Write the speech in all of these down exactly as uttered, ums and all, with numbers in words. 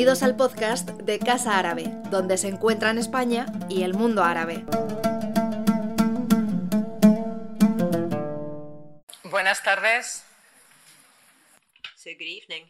Bienvenidos al podcast de Casa Árabe, donde se encuentran España y el mundo árabe. Buenas tardes. So good evening.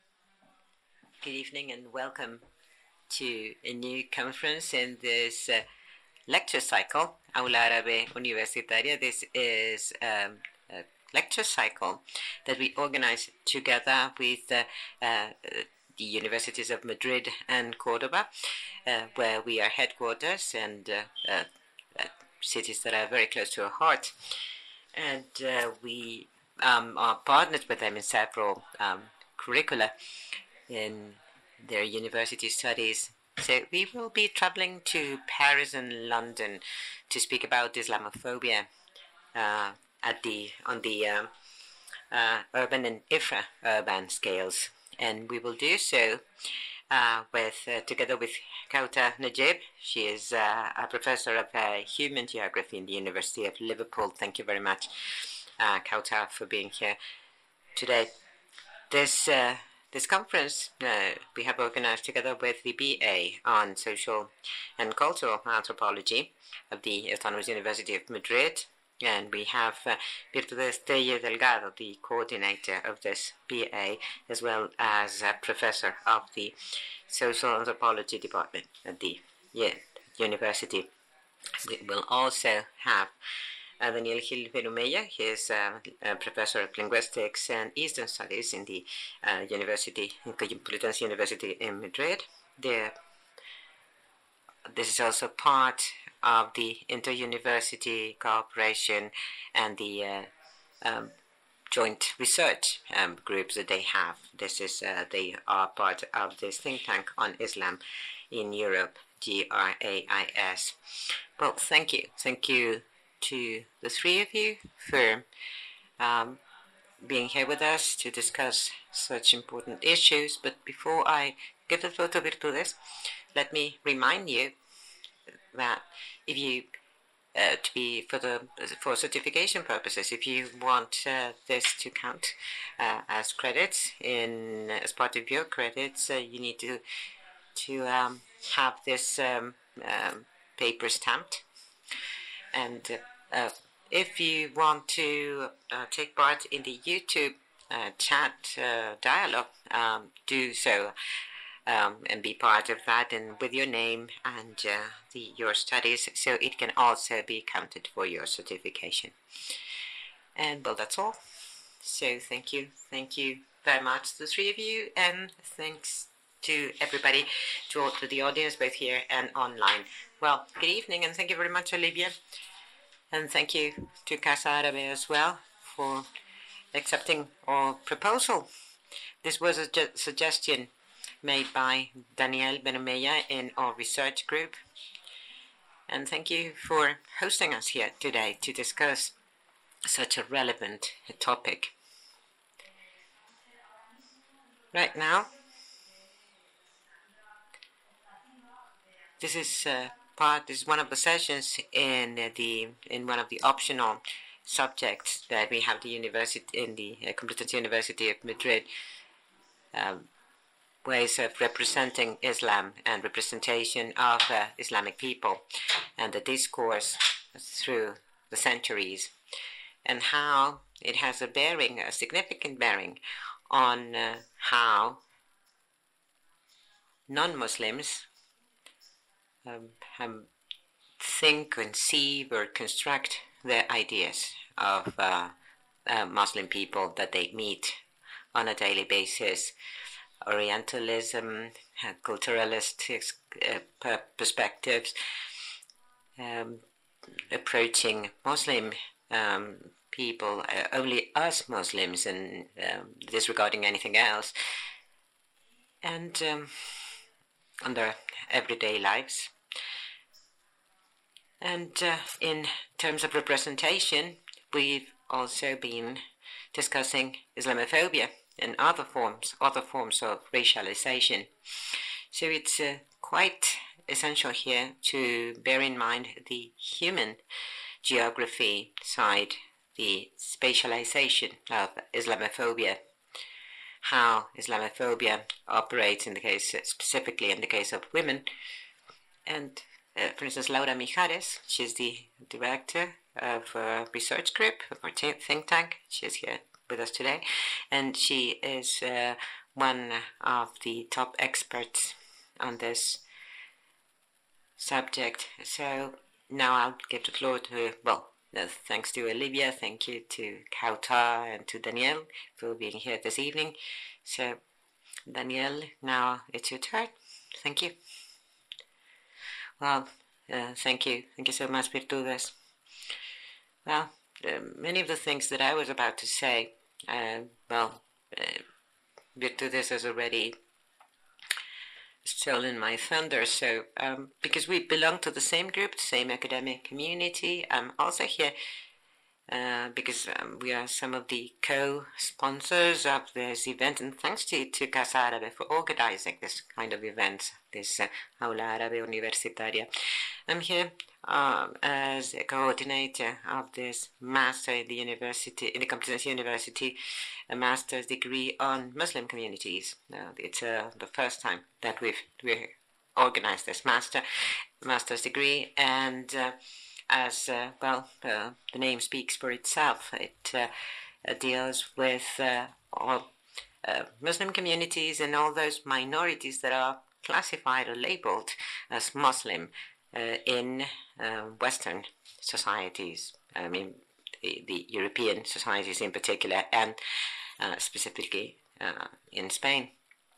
Good evening and welcome to a new conference in this uh, lecture cycle, Aula Árabe Universitaria. This is um, a lecture cycle that we organize together with uh, uh, the universities of Madrid and Cordoba, uh, where we are headquarters and uh, uh, uh, cities that are very close to our heart. And uh, we um, are partnered with them in several um, curricula in their university studies. So we will be traveling to Paris and London to speak about Islamophobia uh, at the on the uh, uh, urban and infra-urban scales. And we will do so uh, with uh, together with Kauta Najib. She is uh, a professor of uh, human geography in the University of Liverpool. Thank you very much, uh, Kauta, for being here today. This uh, this conference uh, we have organized together with the B A on Social and Cultural Anthropology of the Autonomous University of Madrid. And we have uh, Virtudes Teller Delgado, the coordinator of this B A, as well as a professor of the Social Anthropology Department at the yeah, university. We will also have uh, Daniel Gil Verumella. He is uh, a professor of linguistics and Eastern Studies in the uh, University, in Complutense University in Madrid. The, this is also part of the inter-university cooperation and the uh, um, joint research um, groups that they have. This is uh, they are part of this think tank on Islam in Europe, G R A I S. Well, thank you. Thank you to the three of you for um, being here with us to discuss such important issues. But before I give the floor to Virtudes, let me remind you that if you uh, to be for the for certification purposes, if you want uh, this to count uh, as credits in as part of your credits, uh, you need to to um, have this um, um, paper stamped. And uh, if you want to uh, take part in the YouTube uh, chat uh, dialogue, um, do so. Um, and be part of that, and with your name and uh, the, your studies, so it can also be counted for your certification. And well, that's all. So thank you, thank you very much, the three of you, and thanks to everybody, to all to the audience, both here and online. Well, good evening, and thank you very much, Olivia, and thank you to Casa Árabe as well for accepting our proposal. This was a ju- suggestion made by Daniel Verumella in our research group. And thank you for hosting us here today to discuss such a relevant topic. Right now, this is uh, part, this is one of the sessions in uh, the in one of the optional subjects that we have the university in the uh, Complutense University of Madrid. Um, ways of representing Islam and representation of uh, Islamic people and the discourse through the centuries, and how it has a bearing, a significant bearing on uh, how non-Muslims um, um, think, conceive, or construct their ideas of uh, uh, Muslim people that they meet on a daily basis. Orientalism, uh, culturalistic uh, perspectives, um, approaching Muslim um, people, uh, only us Muslims, and um, disregarding anything else, and um, on their everyday lives. And uh, in terms of representation, we've also been discussing Islamophobia and other forms, other forms of racialization. So it's uh, quite essential here to bear in mind the human geography side, the spatialization of Islamophobia, how Islamophobia operates in the case, specifically in the case of women. And uh, for instance, Laura Mijares, she's the director of a research group, of our think tank. She's here with us today. And she is uh, one of the top experts on this subject. So now I'll give the floor to, well, uh, thanks to Olivia, thank you to Kautar and to Danielle for being here this evening. So, Danielle, now it's your turn. Thank you. Well, uh, thank you. Thank you so much, Virtudes. Well, uh, many of the things that I was about to say, uh, well, uh, Virtudes has already stolen my thunder. So, um, because we belong to the same group, the same academic community, I'm also here uh, because um, we are some of the co-sponsors of this event, and thanks to, to Casa Árabe for organizing this kind of event, this uh, Aula Árabe Universitaria. I'm here um, as a coordinator of this master in the university, in the Complutense University, a master's degree on Muslim communities. Uh, it's uh, the first time that we've we organized this master master's degree, and uh, as uh, well, uh, the name speaks for itself. It uh, uh, deals with uh, all uh, Muslim communities and all those minorities that are classified or labeled as Muslim uh, in uh, Western societies. I mean, the, the European societies in particular, and uh, specifically uh, in Spain.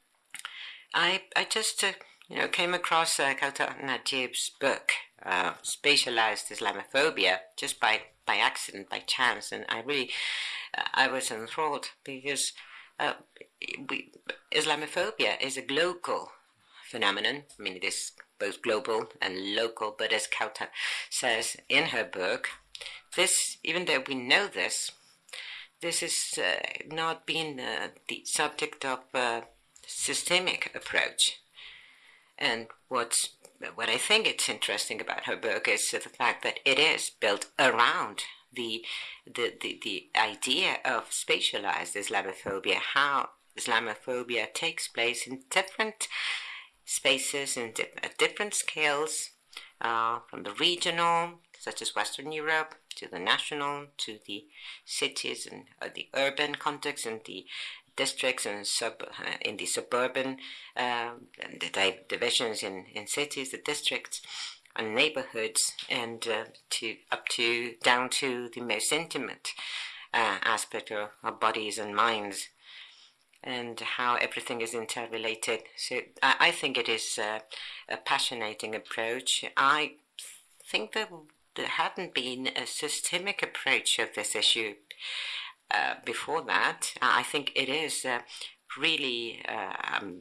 I I just uh, you know came across uh, Kautar Najib's book, uh, Spatialized Islamophobia, just by, by accident, by chance, and I really uh, I was enthralled because uh, we, Islamophobia is a global phenomenon. I mean, it is both global and local, but as Kautar says in her book, this, even though we know this, this is uh, not been uh, the subject of a systemic approach. And what's, what I think it's interesting about her book is the fact that it is built around the, the, the, the idea of spatialized Islamophobia, how Islamophobia takes place in different spaces and di- at different scales, uh, from the regional, such as Western Europe, to the national, to the cities and uh, the urban context, and the districts and sub uh, in the suburban, uh, and the di- divisions in, in cities, the districts and neighborhoods, and uh, to up to down to the most intimate uh, aspect of our bodies and minds, and how everything is interrelated. So I, I think it is uh, a passionating approach. I think that there hadn't been a systemic approach of this issue uh, before that. I think it is uh, really uh, um,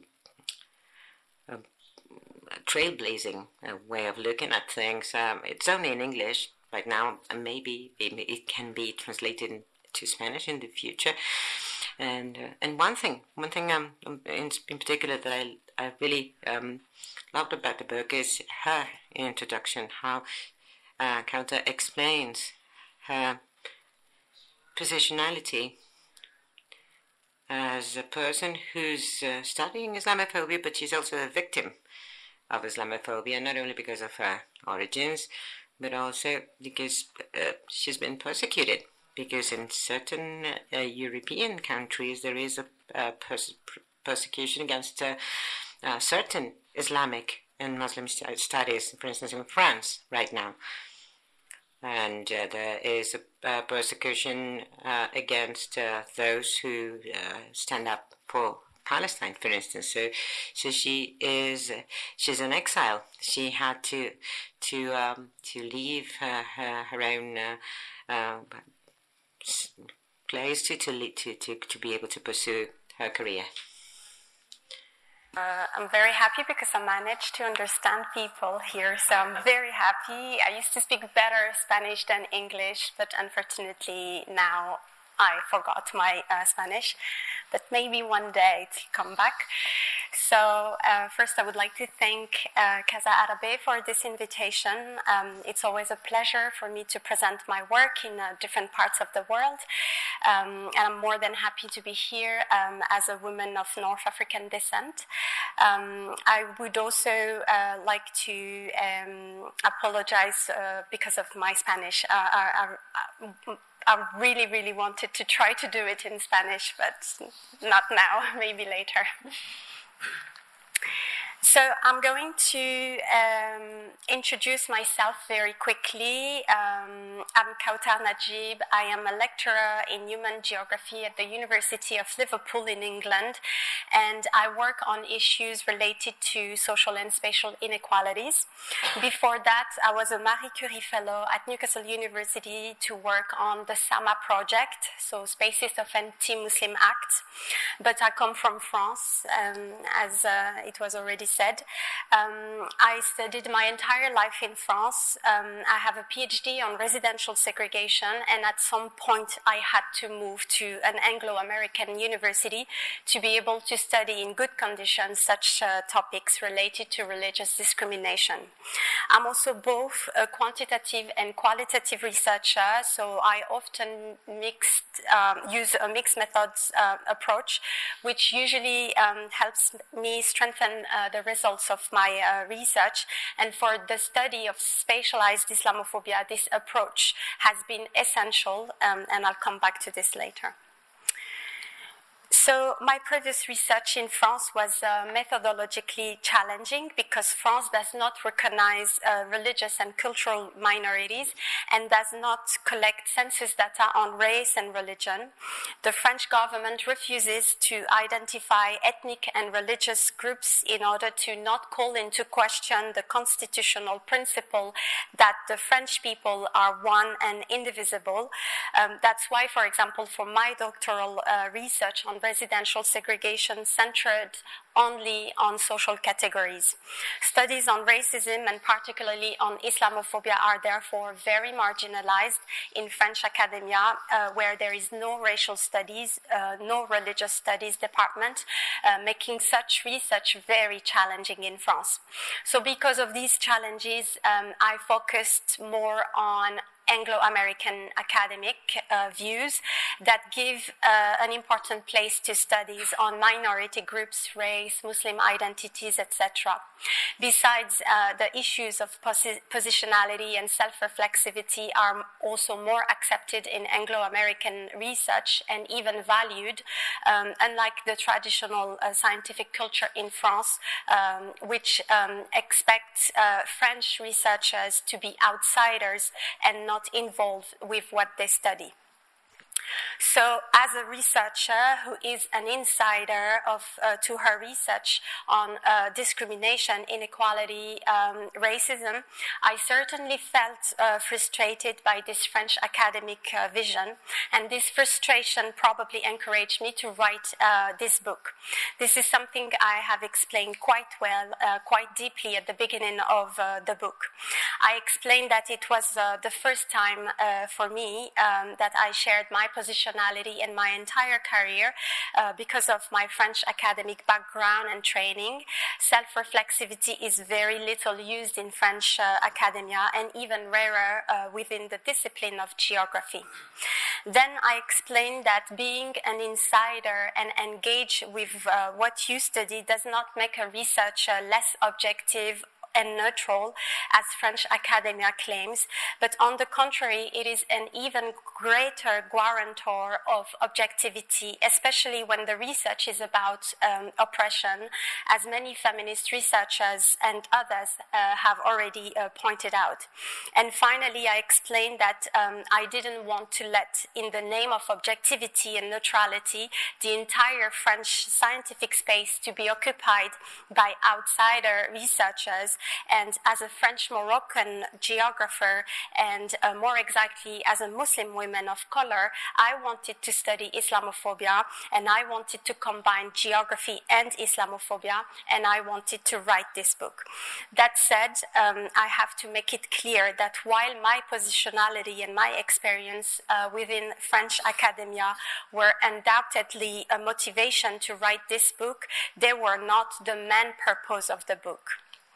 a, a trailblazing uh, way of looking at things. Um, it's only in English right now, and maybe it, it can be translated to Spanish in the future. And uh, and one thing, one thing um, in, in particular that I I really um, loved about the book is her introduction, how uh, Kautar explains her positionality as a person who's uh, studying Islamophobia, but she's also a victim of Islamophobia, not only because of her origins, but also because uh, she's been persecuted. Because in certain uh, European countries there is a, a pers- persecution against uh, uh, certain Islamic and Muslim st- studies, for instance in France right now. And uh, there is a, a persecution uh, against uh, those who uh, stand up for Palestine, for instance. So, so she is uh, she's in exile. She had to to um, to leave her her, her own uh, uh, place to to, to to to be able to pursue her career. Uh, I'm very happy because I managed to understand people here, so I'm very happy. I used to speak better Spanish than English, but unfortunately now I forgot my uh, Spanish, but maybe one day to come back. So uh, first I would like to thank uh, Casa Árabe for this invitation. Um, it's always a pleasure for me to present my work in uh, different parts of the world. Um, and I'm more than happy to be here um, as a woman of North African descent. Um, I would also uh, like to um, apologize uh, because of my Spanish. Uh, I, I, I really, really wanted to try to do it in Spanish, but not now, maybe later. So I'm going to um, introduce myself very quickly. Um, I'm Kautar Najib. I am a lecturer in human geography at the University of Liverpool in England, and I work on issues related to social and spatial inequalities. Before that, I was a Marie Curie Fellow at Newcastle University to work on the SAMA project, so Spaces of Anti-Muslim Acts. But I come from France, um, as uh, it was already said. Um, I studied my entire life in France. Um, I have a PhD on residential segregation, and at some point I had to move to an Anglo-American university to be able to study in good conditions such uh, topics related to religious discrimination. I'm also both a quantitative and qualitative researcher, so I often mixed, um, use a mixed methods uh, approach, which usually um, helps me strengthen uh, the results of my uh, research. And for the study of spatialized Islamophobia, this approach has been essential, um, and I'll come back to this later. So my previous research in France was uh, methodologically challenging because France does not recognize uh, religious and cultural minorities and does not collect census data on race and religion. The French government refuses to identify ethnic and religious groups in order to not call into question the constitutional principle that the French people are one and indivisible. Um, that's why, for example, for my doctoral uh, research on residential segregation centered only on social categories. Studies on racism and particularly on Islamophobia are therefore very marginalized in French academia, uh, where there is no racial studies, uh, no religious studies department, uh, making such research very challenging in France. So because of these challenges, um, I focused more on Anglo-American academic uh, views that give uh, an important place to studies on minority groups, race, Muslim identities, et cetera. Besides, uh, the issues of posi- positionality and self-reflexivity are also more accepted in Anglo-American research and even valued, um, unlike the traditional uh, scientific culture in France, um, which um, expects uh, French researchers to be outsiders and not involved with what they study. So as a researcher who is an insider of, uh, to her research on uh, discrimination, inequality, um, racism, I certainly felt uh, frustrated by this French academic uh, vision, and this frustration probably encouraged me to write uh, this book. This is something I have explained quite well, uh, quite deeply at the beginning of uh, the book. I explained that it was uh, the first time uh, for me um, that I shared my positionality in my entire career uh, because of my French academic background and training. Self-reflexivity is very little used in French uh, academia and even rarer uh, within the discipline of geography. Then I explained that being an insider and engage with uh, what you study does not make a researcher less objective and neutral, as French academia claims, but on the contrary, it is an even greater guarantor of objectivity, especially when the research is about um, oppression, as many feminist researchers and others uh, have already uh, pointed out. And finally, I explained that um, I didn't want to let, in the name of objectivity and neutrality, the entire French scientific space to be occupied by outsider researchers And as a French-Moroccan geographer, and uh, more exactly as a Muslim woman of color, I wanted to study Islamophobia, and I wanted to combine geography and Islamophobia, and I wanted to write this book. That said, um, I have to make it clear that while my positionality and my experience uh, within French academia were undoubtedly a motivation to write this book, they were not the main purpose of the book.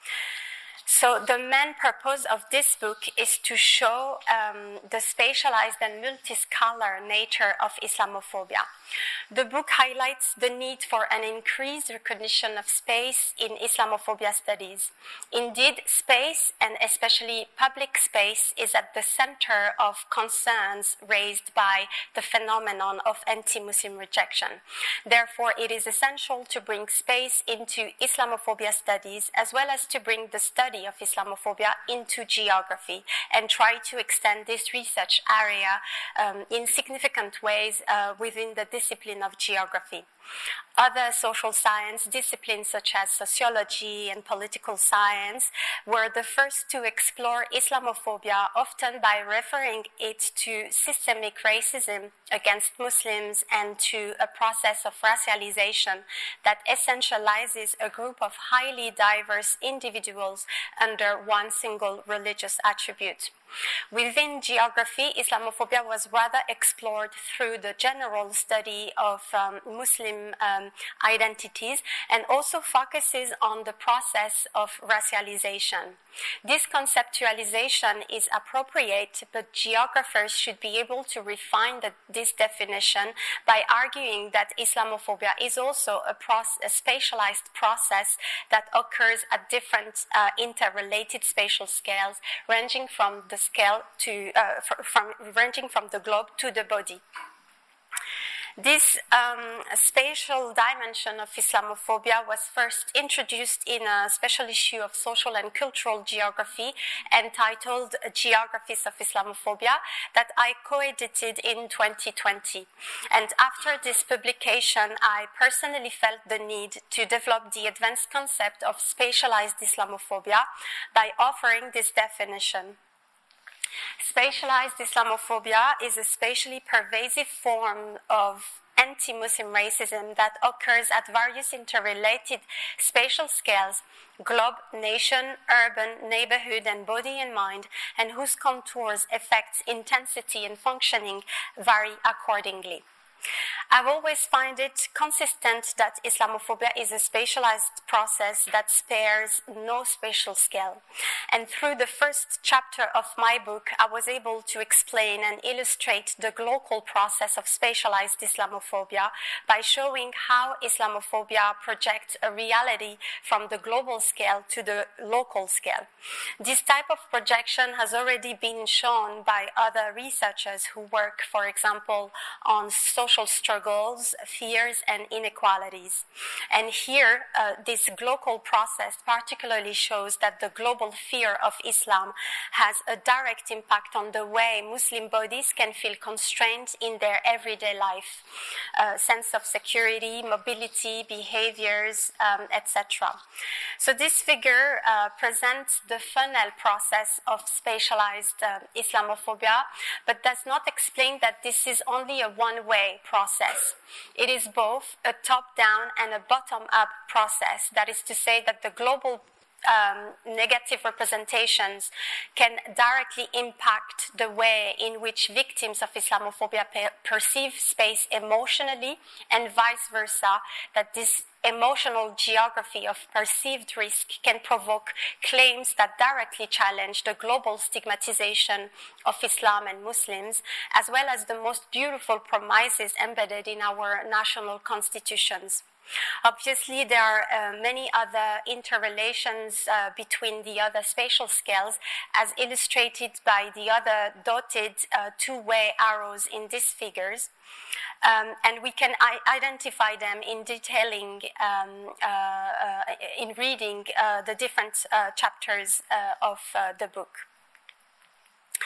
So the main purpose of this book is to show um, the spatialized and multiscalar nature of Islamophobia. The book highlights the need for an increased recognition of space in Islamophobia studies. Indeed, space, and especially public space, is at the center of concerns raised by the phenomenon of anti-Muslim rejection. Therefore, it is essential to bring space into Islamophobia studies, as well as to bring the study of Islamophobia into geography and try to extend this research area um, in significant ways uh, within the discipline of geography. Other social science disciplines such as sociology and political science were the first to explore Islamophobia, often by referring it to systemic racism against Muslims and to a process of racialization that essentializes a group of highly diverse individuals under one single religious attribute. Within geography, Islamophobia was rather explored through the general study of um, Muslim um, identities and also focuses on the process of racialization. This conceptualization is appropriate, but geographers should be able to refine the, this definition by arguing that Islamophobia is also a, proce- a spatialized process that occurs at different uh, interrelated spatial scales, ranging from the scale to uh, from ranging from the globe to the body. This um, spatial dimension of Islamophobia was first introduced in a special issue of Social and Cultural Geography entitled Geographies of Islamophobia that I co-edited in twenty twenty. And after this publication, I personally felt the need to develop the advanced concept of spatialized Islamophobia by offering this definition. Spatialized Islamophobia is a spatially pervasive form of anti-Muslim racism that occurs at various interrelated spatial scales, globe, nation, urban, neighborhood, and body and mind, and whose contours, effects, intensity, and functioning vary accordingly. I've always found it consistent that Islamophobia is a spatialized process that spares no spatial scale. And through the first chapter of my book, I was able to explain and illustrate the global process of spatialized Islamophobia by showing how Islamophobia projects a reality from the global scale to the local scale. This type of projection has already been shown by other researchers who work, for example, on social struggles, fears, and inequalities. And here, uh, this global process particularly shows that the global fear of Islam has a direct impact on the way Muslim bodies can feel constrained in their everyday life, uh, sense of security, mobility, behaviors, um, et cetera. So this figure uh, presents the funnel process of spatialized uh, Islamophobia, but does not explain that this is only a one-way process. It is both a top-down and a bottom-up process. That is to say that the global Um, negative representations can directly impact the way in which victims of Islamophobia per- perceive space emotionally, and vice versa, that this emotional geography of perceived risk can provoke claims that directly challenge the global stigmatization of Islam and Muslims, as well as the most beautiful promises embedded in our national constitutions. Obviously, there are uh, many other interrelations uh, between the other spatial scales, as illustrated by the other dotted uh, two-way arrows in these figures. Um, and we can I- identify them in detailing, um, uh, uh, in reading uh, the different uh, chapters uh, of uh, the book.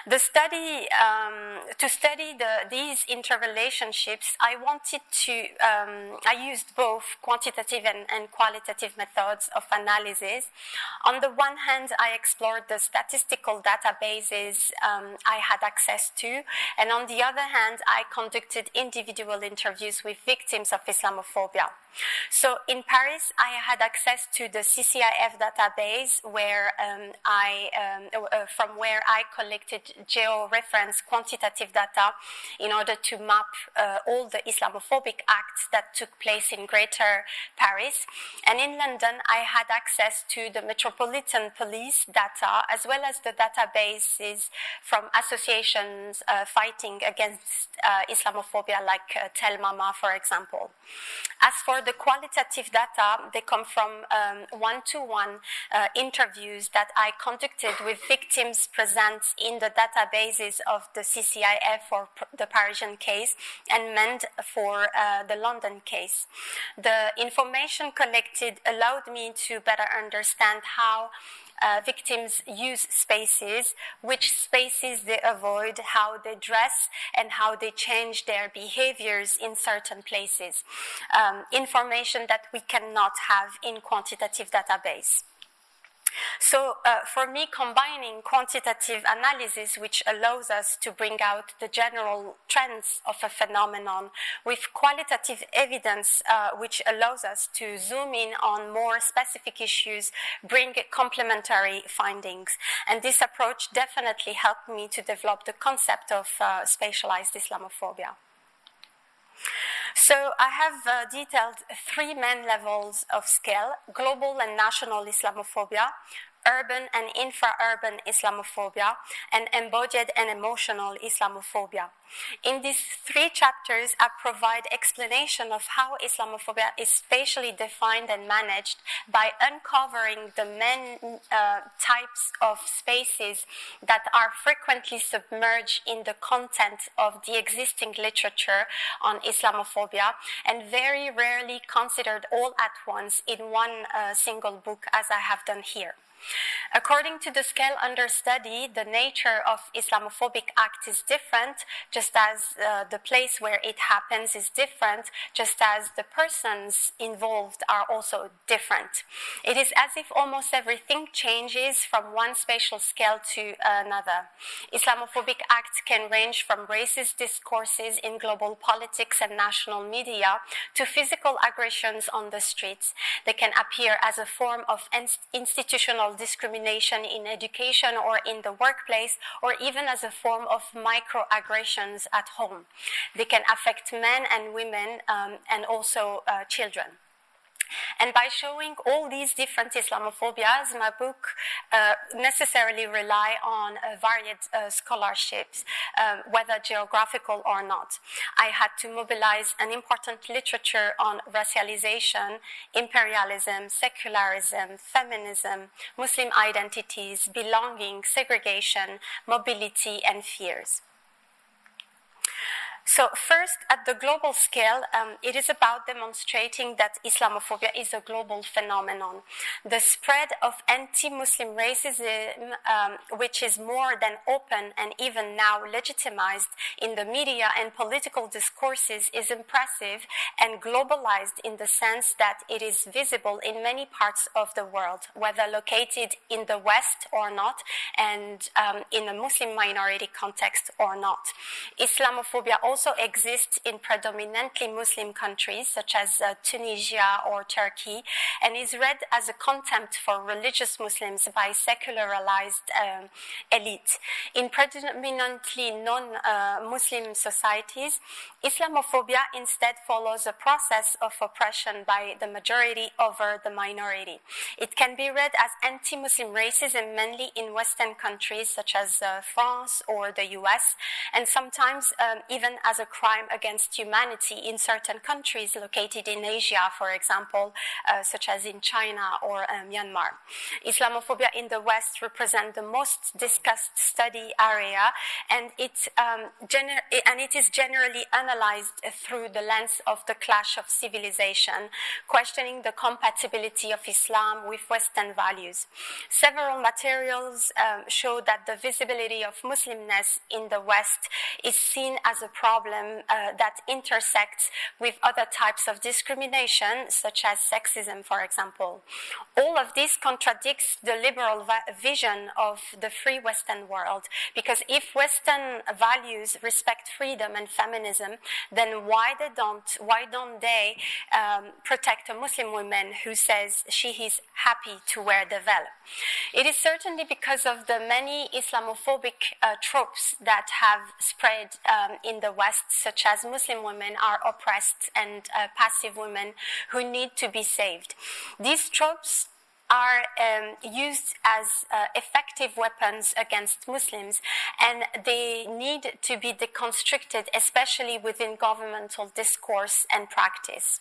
The study, um, to study the, these interrelationships, I wanted to, um, I used both quantitative and, and qualitative methods of analysis. On the one hand, I explored the statistical databases um, I had access to, and on the other hand, I conducted individual interviews with victims of Islamophobia. So in Paris, I had access to the C C I F database, where um, I, um, uh, from where I collected geo-reference quantitative data in order to map uh, all the Islamophobic acts that took place in Greater Paris. And in London, I had access to the Metropolitan Police data, as well as the databases from associations uh, fighting against uh, Islamophobia, like uh, Tel Mama, for example. As for the qualitative data, they come from um, one-to-one uh, interviews that I conducted with victims present in the databases of the C C I F for the Parisian case and M E N D for uh, the London case. The information collected allowed me to better understand how Uh, victims use spaces, which spaces they avoid, how they dress, and how they change their behaviors in certain places. Um, information that we cannot have in quantitative database. So uh, for me, combining quantitative analysis, which allows us to bring out the general trends of a phenomenon, with qualitative evidence, uh, which allows us to zoom in on more specific issues, bring complementary findings. And this approach definitely helped me to develop the concept of uh, spatialized Islamophobia. So I have uh, detailed three main levels of scale: global and national Islamophobia, urban and infra-urban Islamophobia, and embodied and emotional Islamophobia. In these three chapters, I provide explanation of how Islamophobia is spatially defined and managed by uncovering the main uh, types of spaces that are frequently submerged in the content of the existing literature on Islamophobia and very rarely considered all at once in one uh, single book, as I have done here. According to the scale under study, the nature of Islamophobic act is different, just as uh, the place where it happens is different, just as the persons involved are also different. It is as if almost everything changes from one spatial scale to another. Islamophobic acts can range from racist discourses in global politics and national media to physical aggressions on the streets. They can appear as a form of institutional discrimination in education or in the workplace, or even as a form of microaggressions at home. They can affect men and women um, and also uh, children. And by showing all these different Islamophobias, my book uh, necessarily rely on uh, varied uh, scholarships, um, whether geographical or not. I had to mobilize an important literature on racialization, imperialism, secularism, feminism, Muslim identities, belonging, segregation, mobility, and fears. So first, at the global scale, um, it is about demonstrating that Islamophobia is a global phenomenon. The spread of anti-Muslim racism, um, which is more than open and even now legitimized in the media and political discourses, is impressive and globalized in the sense that it is visible in many parts of the world, whether located in the West or not, and um, in a Muslim minority context or not. Islamophobia also also exists in predominantly Muslim countries such as uh, Tunisia or Turkey, and is read as a contempt for religious Muslims by secularized um, elite. In predominantly non-Muslim uh, societies, Islamophobia instead follows a process of oppression by the majority over the minority. It can be read as anti-Muslim racism mainly in Western countries such as uh, France or the U S, and sometimes um, even as a crime against humanity in certain countries located in Asia, for example, uh, such as in China or uh, Myanmar. Islamophobia in the West represents the most discussed study area, and it, um, gener- and it is generally analyzed through the lens of the clash of civilization, questioning the compatibility of Islam with Western values. Several materials um, show that the visibility of Muslimness in the West is seen as a problem uh, that intersects with other types of discrimination, such as sexism, for example. All of this contradicts the liberal va- vision of the free Western world, because if Western values respect freedom and feminism, then why they don't, why don't they um, protect a Muslim woman who says she is happy to wear the veil? It is certainly because of the many Islamophobic uh, tropes that have spread um, in the West, such as Muslim women are oppressed and uh, passive women who need to be saved. These tropes are um, used as uh, effective weapons against Muslims, and they need to be deconstructed, especially within governmental discourse and practice.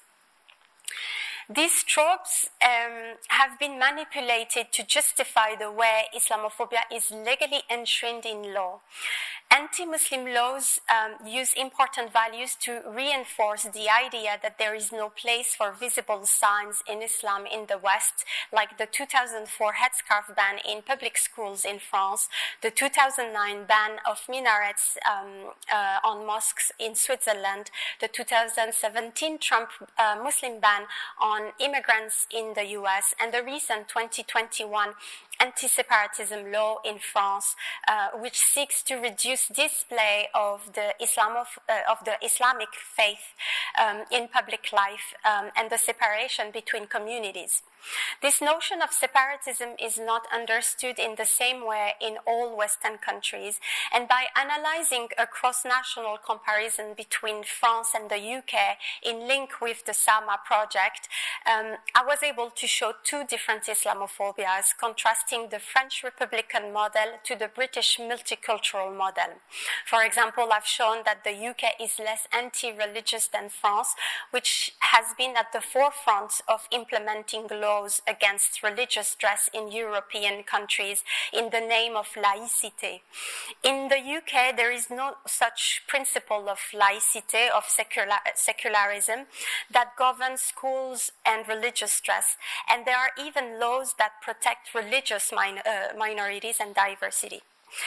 These tropes um, have been manipulated to justify the way Islamophobia is legally enshrined in law. Anti-Muslim laws um, use important values to reinforce the idea that there is no place for visible signs in Islam in the West, like the two thousand four headscarf ban in public schools in France, the two thousand nine ban of minarets um, uh, on mosques in Switzerland, the two thousand seventeen Trump uh, Muslim ban on immigrants in the U S, and the recent twenty twenty-one anti-separatism law in France, uh, which seeks to reduce display of the Islam of, uh, of the Islamic faith um, in public life um, and the separation between communities. This notion of separatism is not understood in the same way in all Western countries, and by analyzing a cross-national comparison between France and the U K in link with the SAMA project, um, I was able to show two different Islamophobias, contrasting the French Republican model to the British multicultural model. For example, I've shown that the U K is less anti-religious than France, which has been at the forefront of implementing laws against religious dress in European countries in the name of laïcité. In the U K, there is no such principle of laïcité, of secular, secularism, that governs schools and religious dress, and there are even laws that protect religious min- uh, minorities and diversity.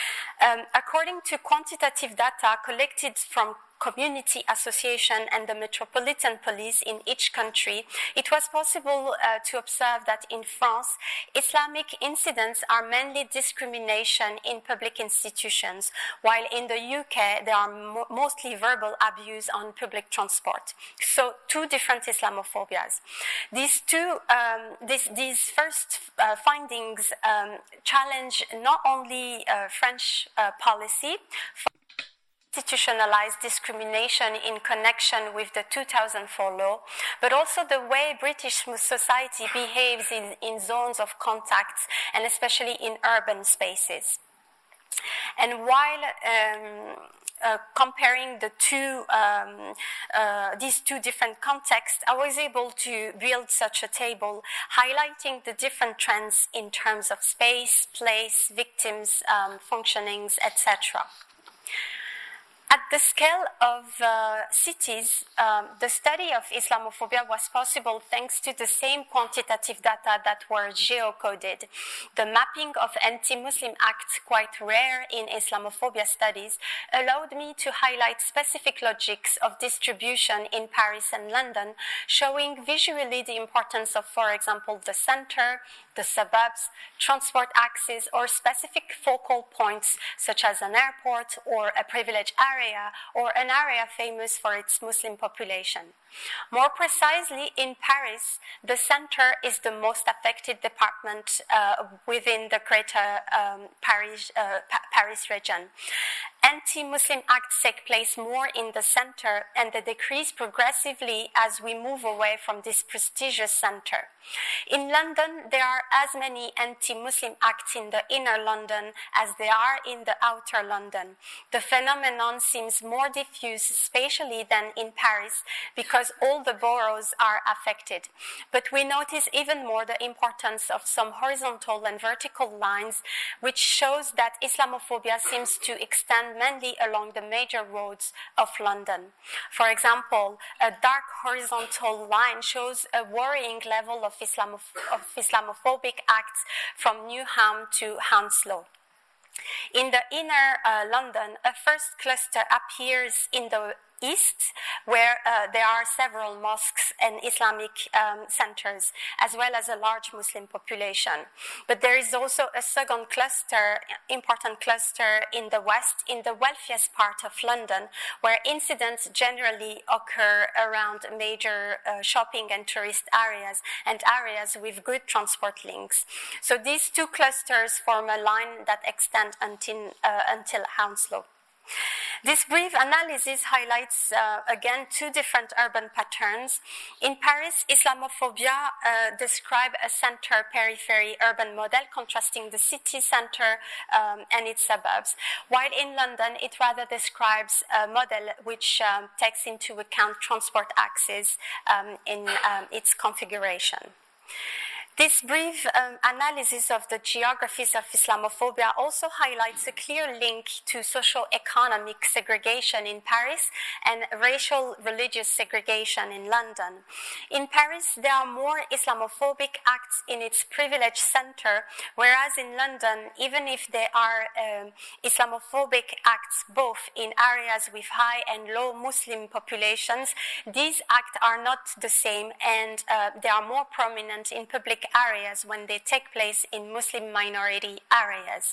Um, according to quantitative data collected from community association and the metropolitan police in each country, it was possible uh, to observe that in France, Islamic incidents are mainly discrimination in public institutions, while in the U K, there are mo- mostly verbal abuse on public transport. So, two different Islamophobias. These two, um, this, these first uh, findings um, challenge not only uh, French uh, policy, institutionalized discrimination in connection with the two thousand four law, but also the way British society behaves in, in zones of contacts, and especially in urban spaces. And while um, uh, comparing the two, um, uh, these two different contexts, I was able to build such a table highlighting the different trends in terms of space, place, victims, um, functionings, et cetera. At the scale of uh, cities, um, the study of Islamophobia was possible thanks to the same quantitative data that were geocoded. The mapping of anti-Muslim acts, quite rare in Islamophobia studies, allowed me to highlight specific logics of distribution in Paris and London, showing visually the importance of, for example, the center, the suburbs, transport access, or specific focal points such as an airport or a privileged area or an area famous for its Muslim population. More precisely, in Paris, the center is the most affected department uh, within the greater um, Paris, uh, pa- Paris region. anti-Muslim acts take place more in the center, and they decrease progressively as we move away from this prestigious center. In London, there are as many anti-Muslim acts in the inner London as there are in the outer London. The phenomenon seems more diffuse spatially than in Paris because all the boroughs are affected. But we notice even more the importance of some horizontal and vertical lines, which shows that Islamophobia seems to extend mainly along the major roads of London. For example, a dark horizontal line shows a worrying level of, Islamoph- of Islamophobic acts from Newham to Hounslow. In the inner uh, London, a first cluster appears in the east, where uh, there are several mosques and Islamic um, centers, as well as a large Muslim population. But there is also a second cluster, important cluster in the west, in the wealthiest part of London, where incidents generally occur around major uh, shopping and tourist areas and areas with good transport links. So these two clusters form a line that extend until, uh, until Hounslow. This brief analysis highlights, uh, again, two different urban patterns. In Paris, Islamophobia uh, describes a center-periphery urban model contrasting the city center um, and its suburbs, while in London, it rather describes a model which um, takes into account transport axes um, in um, its configuration. This brief um, analysis of the geographies of Islamophobia also highlights a clear link to socio-economic segregation in Paris and racial religious segregation in London. In Paris, there are more Islamophobic acts in its privileged center, whereas in London, even if there are um, Islamophobic acts both in areas with high and low Muslim populations, these acts are not the same, and uh, they are more prominent in public areas when they take place in Muslim minority areas.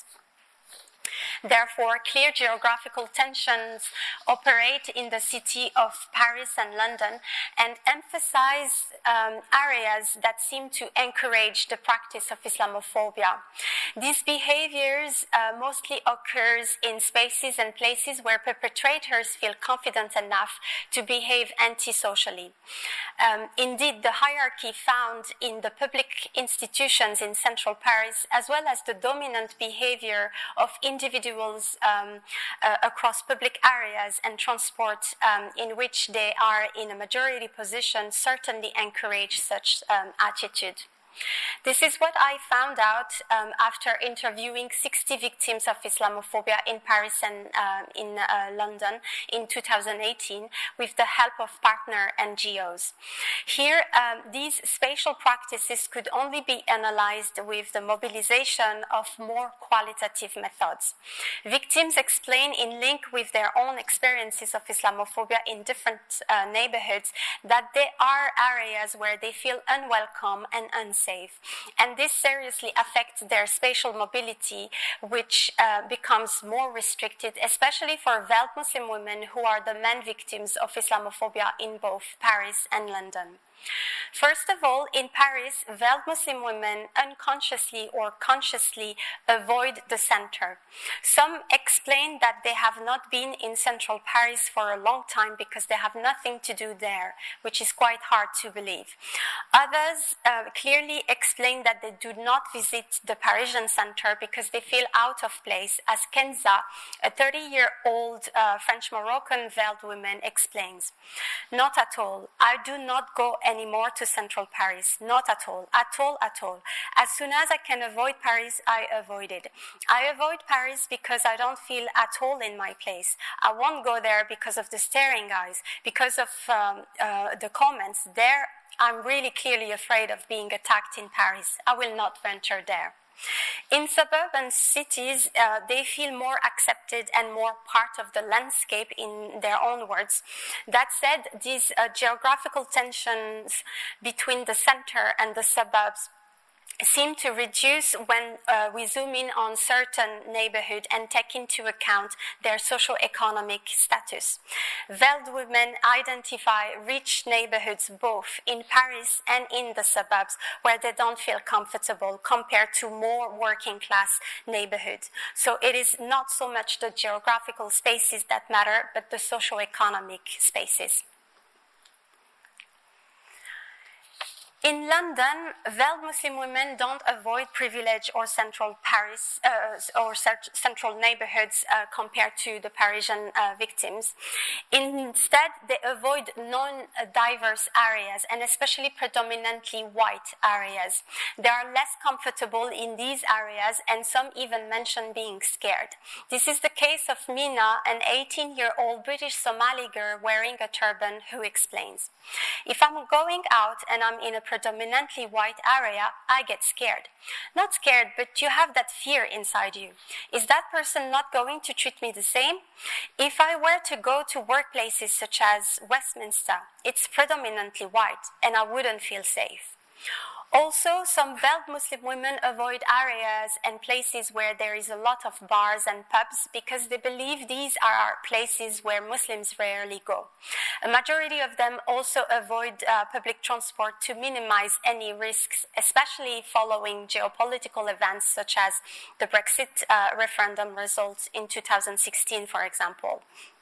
Therefore, clear geographical tensions operate in the city of Paris and London and emphasize um, areas that seem to encourage the practice of Islamophobia. These behaviors uh, mostly occurs in spaces and places where perpetrators feel confident enough to behave antisocially. Um, indeed, the hierarchy found in the public institutions in central Paris, as well as the dominant behavior of individuals um, uh, across public areas and transport um, in which they are in a majority position, certainly encourage such um, attitude. This is what I found out um, after interviewing sixty victims of Islamophobia in Paris and uh, in uh, London in two thousand eighteen with the help of partner N G Os. Here, um, these spatial practices could only be analyzed with the mobilization of more qualitative methods. Victims explain in link with their own experiences of Islamophobia in different uh, neighborhoods that there are areas where they feel unwelcome and unsafe. Safe. And this seriously affects their spatial mobility, which uh, becomes more restricted, especially for veiled Muslim women who are the main victims of Islamophobia in both Paris and London. First of all, in Paris, veiled Muslim women unconsciously or consciously avoid the center. Some explain that they have not been in central Paris for a long time because they have nothing to do there, which is quite hard to believe. Others uh, clearly explain that they do not visit the Parisian center because they feel out of place, as Kenza, a thirty-year-old uh, French-Moroccan veiled woman, explains. Not at all. I do not go anymore to central Paris. Not at all. At all, at all. As soon as I can avoid Paris, I avoid it. I avoid Paris because I don't feel at all in my place. I won't go there because of the staring eyes, because of um, uh, the comments. There, I'm really clearly afraid of being attacked in Paris. I will not venture there. In suburban cities, uh, they feel more accepted and more part of the landscape, in their own words. That said, these uh, geographical tensions between the center and the suburbs seem to reduce when uh, we zoom in on certain neighborhoods and take into account their socio-economic status. Veiled women identify rich neighborhoods both in Paris and in the suburbs where they don't feel comfortable compared to more working-class neighborhoods. So it is not so much the geographical spaces that matter, but the socio-economic spaces. In London, veiled Muslim women don't avoid privileged or central Paris uh, or central neighborhoods uh, compared to the Parisian uh, victims. Instead, they avoid non-diverse areas and especially predominantly white areas. They are less comfortable in these areas and some even mention being scared. This is the case of Mina, an eighteen-year-old British Somali girl wearing a turban who explains, "If I'm going out and I'm in a predominantly white area, I get scared. Not scared, but you have that fear inside you. Is that person not going to treat me the same? If I were to go to workplaces such as Westminster, it's predominantly white and I wouldn't feel safe." Also, some veiled Muslim women avoid areas and places where there is a lot of bars and pubs because they believe these are places where Muslims rarely go. A majority of them also avoid uh, public transport to minimize any risks, especially following geopolitical events such as the Brexit uh, referendum results in two thousand sixteen, for example.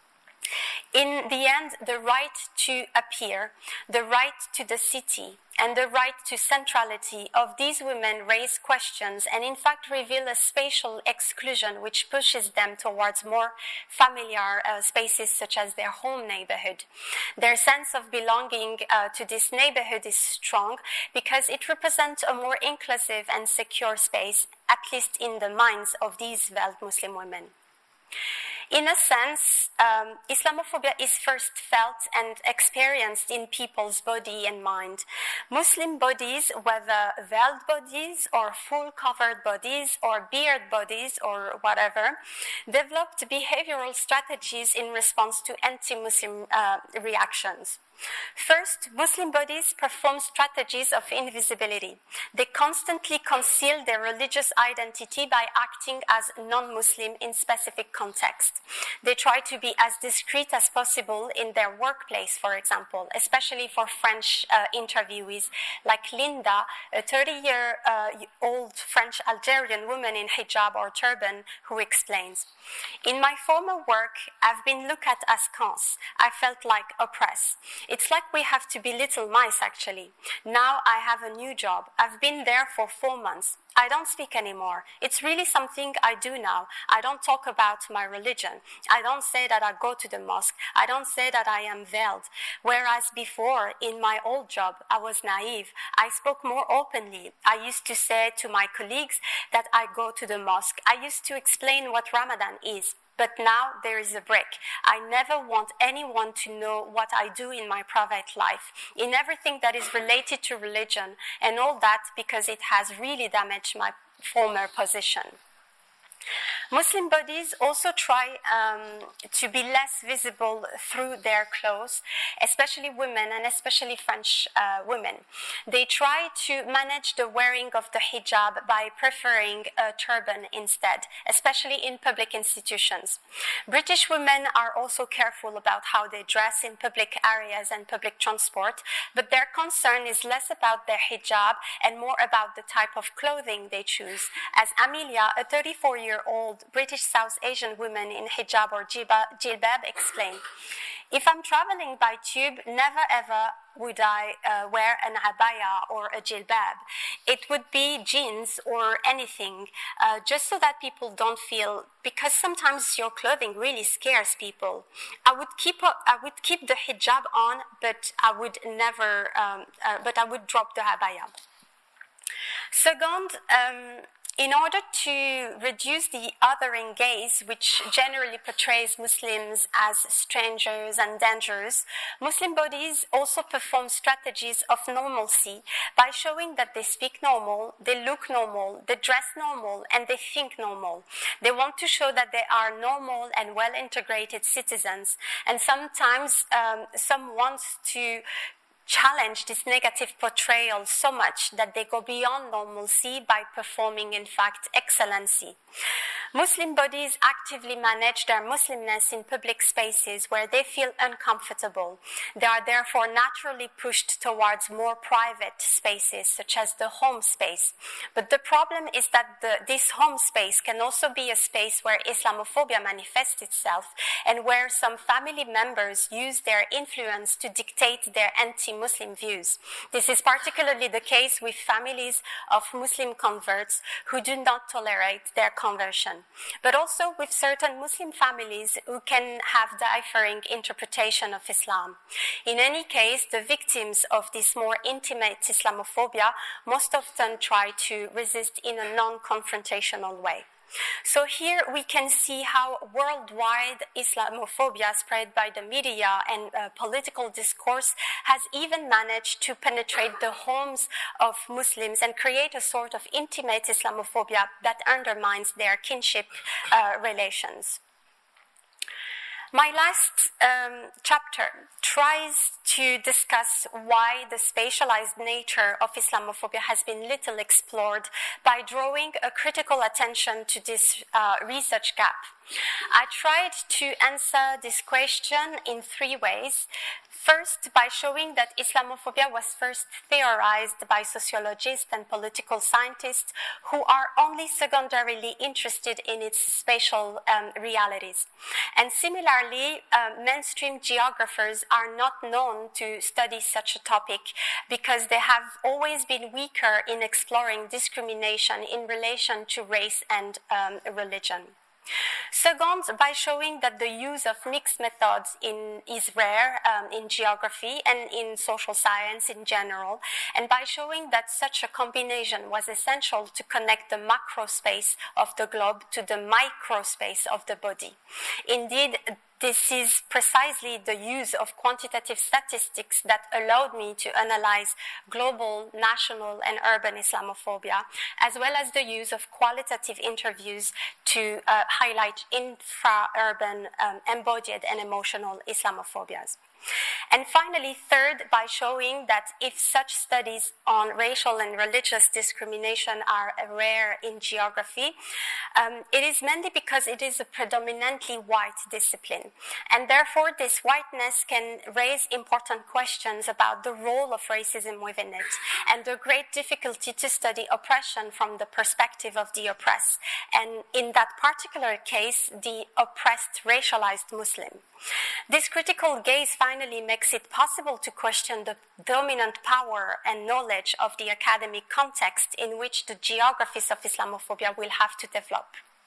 In the end, the right to appear, the right to the city, and the right to centrality of these women raise questions and in fact reveal a spatial exclusion which pushes them towards more familiar uh, spaces such as their home neighborhood. Their sense of belonging uh, to this neighborhood is strong because it represents a more inclusive and secure space, at least in the minds of these veiled Muslim women. In a sense, um, Islamophobia is first felt and experienced in people's body and mind. Muslim bodies, whether veiled bodies or full covered bodies or beard bodies or whatever, developed behavioral strategies in response to anti-Muslim uh, reactions. First, Muslim bodies perform strategies of invisibility. They constantly conceal their religious identity by acting as non-Muslim in specific contexts. They try to be as discreet as possible in their workplace, for example, especially for French uh, interviewees like Linda, a thirty-year-old uh, French Algerian woman in hijab or turban, who explains, "In my former work, I've been looked at as cons. I felt like oppressed. It's like we have to belittle mice, actually. Now I have a new job. I've been there for four months. I don't speak anymore. It's really something I do now. I don't talk about my religion. I don't say that I go to the mosque. I don't say that I am veiled. Whereas before, in my old job, I was naive. I spoke more openly. I used to say to my colleagues that I go to the mosque. I used to explain what Ramadan is. But now there is a break. I never want anyone to know what I do in my private life, in everything that is related to religion, and all that because it has really damaged my former position." Muslim bodies also try um, to be less visible through their clothes, especially women and especially French uh, women. They try to manage the wearing of the hijab by preferring a turban instead, especially in public institutions. British women are also careful about how they dress in public areas and public transport, but their concern is less about their hijab and more about the type of clothing they choose. As Amelia, a thirty-four-year-old British South Asian woman in hijab or jilbab explained, "If I'm traveling by tube, never ever would I uh, wear an abaya or a jilbab. It would be jeans or anything, uh, just so that people don't feel, because sometimes your clothing really scares people. I would keep a, I would keep the hijab on, but I would never, um, uh, but I would drop the abaya." Second, um, in order to reduce the othering gaze, which generally portrays Muslims as strangers and dangerous, Muslim bodies also perform strategies of normalcy by showing that they speak normal, they look normal, they dress normal, and they think normal. They want to show that they are normal and well-integrated citizens, and sometimes um, some want to challenge this negative portrayal so much that they go beyond normalcy by performing, in fact, excellency. Muslim bodies actively manage their Muslimness in public spaces where they feel uncomfortable. They are therefore naturally pushed towards more private spaces, such as the home space. But the problem is that the, this home space can also be a space where Islamophobia manifests itself and where some family members use their influence to dictate their anti-Muslim views. This is particularly the case with families of Muslim converts who do not tolerate their conversion, but also with certain Muslim families who can have differing interpretation of Islam. In any case, the victims of this more intimate Islamophobia most often try to resist in a non-confrontational way. So here we can see how worldwide Islamophobia spread by the media and uh, political discourse has even managed to penetrate the homes of Muslims and create a sort of intimate Islamophobia that undermines their kinship uh, relations. My last um, chapter tries to discuss why the spatialized nature of Islamophobia has been little explored by drawing a critical attention to this uh, research gap. I tried to answer this question in three ways. First, by showing that Islamophobia was first theorized by sociologists and political scientists who are only secondarily interested in its spatial um, realities. And similarly, uh, mainstream geographers are not known to study such a topic because they have always been weaker in exploring discrimination in relation to race and um, religion. Second, by showing that the use of mixed methods in, is rare um, in geography and in social science in general, and by showing that such a combination was essential to connect the macro space of the globe to the micro space of the body. Indeed, this is precisely the use of quantitative statistics that allowed me to analyze global, national, and urban Islamophobia, as well as the use of qualitative interviews to uh, highlight infra-urban, um, embodied, and emotional Islamophobias. And finally, third, by showing that if such studies on racial and religious discrimination are rare in geography, um, it is mainly because it is a predominantly white discipline. And therefore, this whiteness can raise important questions about the role of racism within it and the great difficulty to study oppression from the perspective of the oppressed. And in that particular case, the oppressed racialized Muslim. This critical gaze finally makes it possible to question the dominant power and knowledge of the academic context in which the geographies of Islamophobia will have to develop.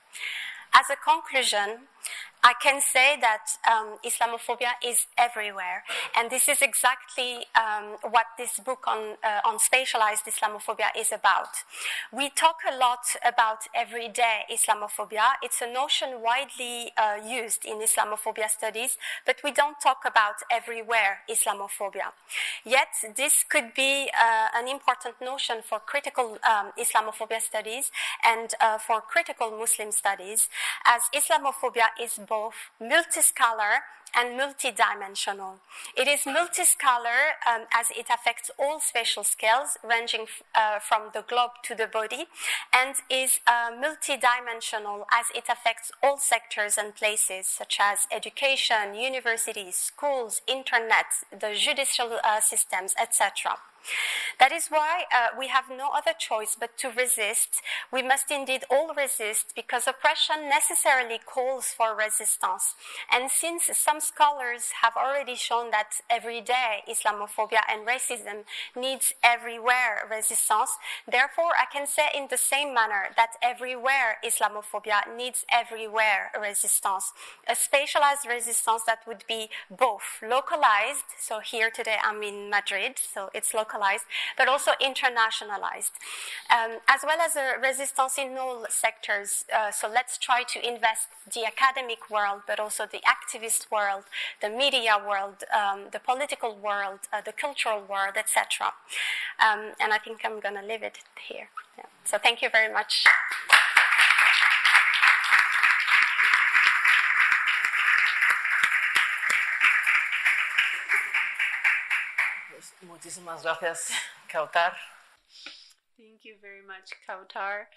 As a conclusion, I can say that um, Islamophobia is everywhere, and this is exactly um, what this book on, uh, on spatialized Islamophobia is about. We talk a lot about everyday Islamophobia. It's a notion widely uh, used in Islamophobia studies, but we don't talk about everywhere Islamophobia. Yet, this could be uh, an important notion for critical um, Islamophobia studies and uh, for critical Muslim studies, as Islamophobia is both multiscalar and multidimensional. It is multiscalar um, as it affects all spatial scales, ranging uh, from the globe to the body, and is uh, multidimensional as it affects all sectors and places, such as education, universities, schools, internet, the judicial uh, systems, et cetera. That is why uh, we have no other choice but to resist. We must indeed all resist, because oppression necessarily calls for resistance. And since some scholars have already shown that everyday Islamophobia and racism needs everywhere resistance, therefore I can say in the same manner that everywhere Islamophobia needs everywhere resistance. A spatialized resistance that would be both localized, so here today I'm in Madrid, so it's localized, but also internationalized, um, as well as a resistance in all sectors. Uh, so let's try to invest the academic world, but also the activist world, the media world, um, the political world, uh, the cultural world, et cetera. Um, and I think I'm going to leave it here. Yeah. So thank you very much. Muchísimas gracias, Kautar. Thank you very much, Kautar.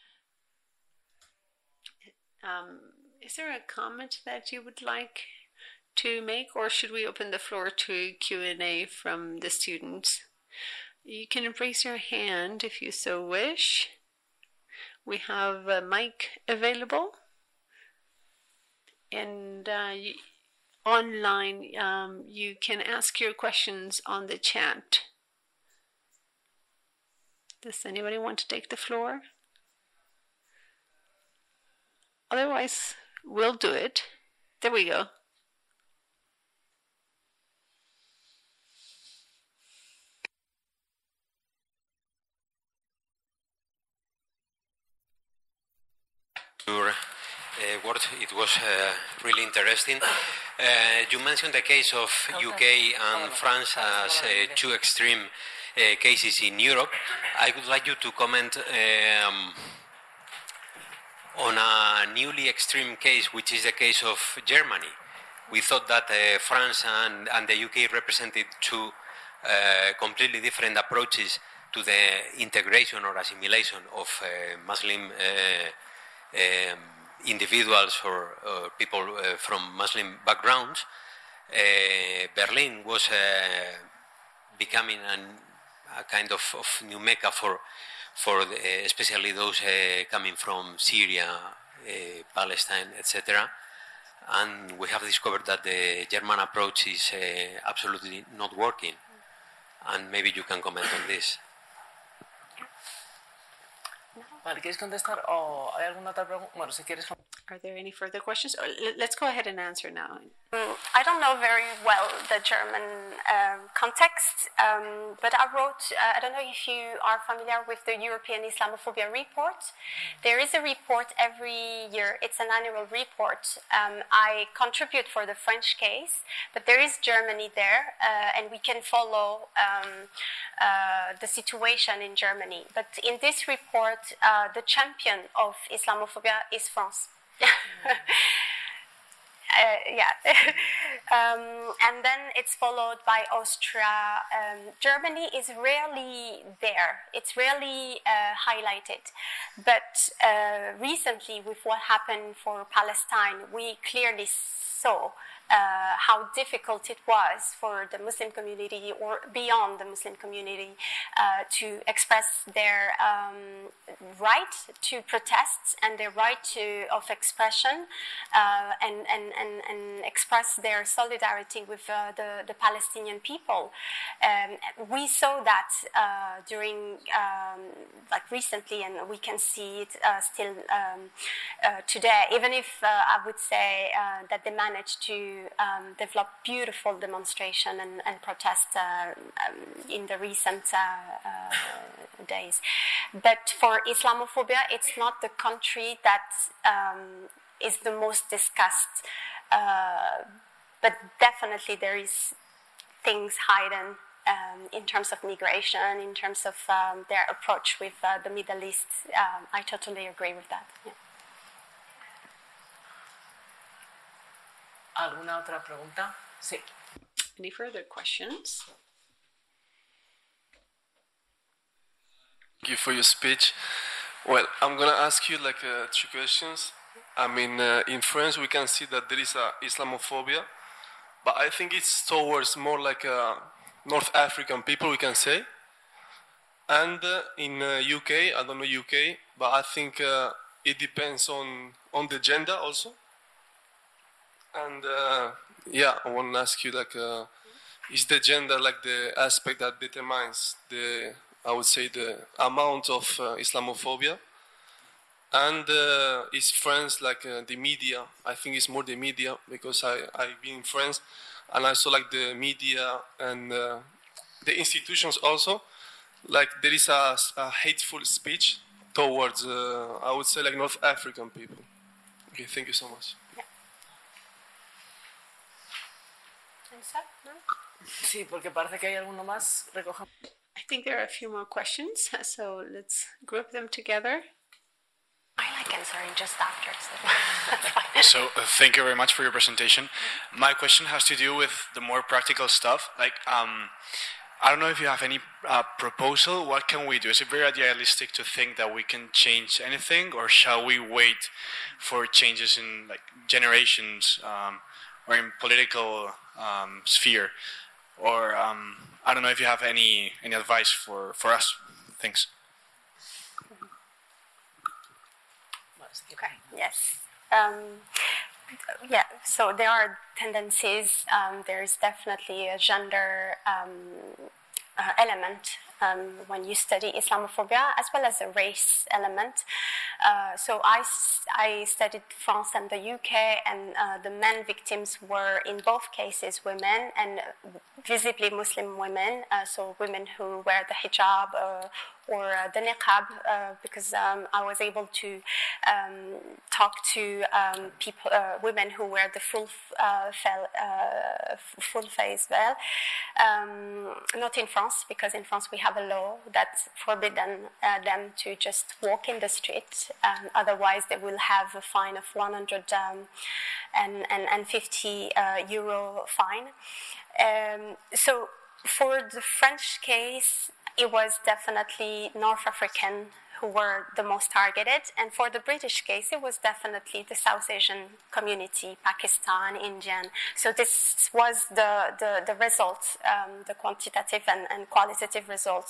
Um, is there a comment that you would like to make, or should we open the floor to Q and A from the students? You can raise your hand if you so wish. We have a mic available. And uh, online, um, you can ask your questions on the chat. Does anybody want to take the floor? Otherwise, we'll do it. There we go. Your uh, word, it was uh, really interesting. Uh, you mentioned the case of U K and France as uh, two extreme uh, cases in Europe. I would like you to comment um, on a newly extreme case, which is the case of Germany. We thought that uh, France and, and the U K represented two uh, completely different approaches to the integration or assimilation of uh, Muslim uh, um, individuals or, or people uh, from Muslim backgrounds. Uh, Berlin was uh, becoming an, a kind of, of new Mecca for for the, especially those uh, coming from Syria, uh, Palestine, et cetera. And we have discovered that the German approach is uh, absolutely not working. And maybe you can comment on this. Vale, ¿quieres contestar o hay alguna otra pregunta? Bueno, si quieres. Are there any further questions? Or let's go ahead and answer now. Mm, I don't know very well the German um, context, um, but I wrote, uh, I don't know if you are familiar with the European Islamophobia report. There is a report every year. It's an annual report. Um, I contribute for the French case, but there is Germany there, uh, and we can follow um, uh, the situation in Germany. But in this report, uh, the champion of Islamophobia is France. Uh, yeah, um, and then it's followed by Austria. Um, Germany is rarely there. It's rarely uh, highlighted. But uh, recently, with what happened for Palestine, we clearly saw uh, how difficult it was for the Muslim community or beyond the Muslim community uh, to express their um, right to protest and their right to of expression uh, and, and, and, and express their solidarity with uh, the, the Palestinian people. Um, we saw that uh, during um, like recently, and we can see it uh, still um, uh, today, even if uh, I would say uh, that they managed to Um, develop beautiful demonstration and, and protest uh, um, in the recent uh, uh, days. But for Islamophobia, it's not the country that um, is the most discussed. Uh, but definitely there is things hidden um, in terms of migration, in terms of um, their approach with uh, the Middle East. Um, I totally agree with that. Yeah. ¿Alguna otra pregunta? Sí. Any further questions? Thank you for your speech. Well, I'm going to ask you like uh, two questions. I mean, uh, in France, we can see that there is a Islamophobia, but I think it's towards more like a North African people, we can say. And uh, in uh, U K, I don't know U K, but I think uh, it depends on, on the gender also. And uh, yeah, I want to ask you, like, uh, is the gender like the aspect that determines the, I would say, the amount of uh, Islamophobia? And uh, is France like uh, the media? I think it's more the media because I, I've been in France and I saw like the media and uh, the institutions also, like there is a, a hateful speech towards, uh, I would say, like North African people. Okay, thank you so much. Sí, porque parece que hay alguno más. Recoja. I think there are a few more questions, so let's group them together. I like answering just after. So, so uh, thank you very much for your presentation. My question has to do with the more practical stuff. Like, um, I don't know if you have any uh, proposal. What can we do? Is it very idealistic to think that we can change anything, or shall we wait for changes in like generations um, or in political um, sphere? Or um, I don't know if you have any any advice for, for us. Thanks. Okay. Yes. Um, yeah. So there are tendencies. Um, there is definitely a gender um, uh, element um, when you study Islamophobia, as well as a race element. Uh, so I, I studied France and the U K, and uh, the main victims were in both cases women, and visibly Muslim women. Uh, so women who wear the hijab uh, or uh, the niqab, uh, because um, I was able to um, talk to um, people, uh, women who wear the full uh, fel, uh, full face veil. Um, not in France, because in France we have a law that forbidden uh, them to just walk in the street. Um, otherwise, they will have a fine of one hundred um, and, and, and fifty uh, euro fine. Um, so for the French case, it was definitely North African who were the most targeted. And for the British case, it was definitely the South Asian community, Pakistan, Indian. So this was the, the, the results, um, the quantitative and, and qualitative results.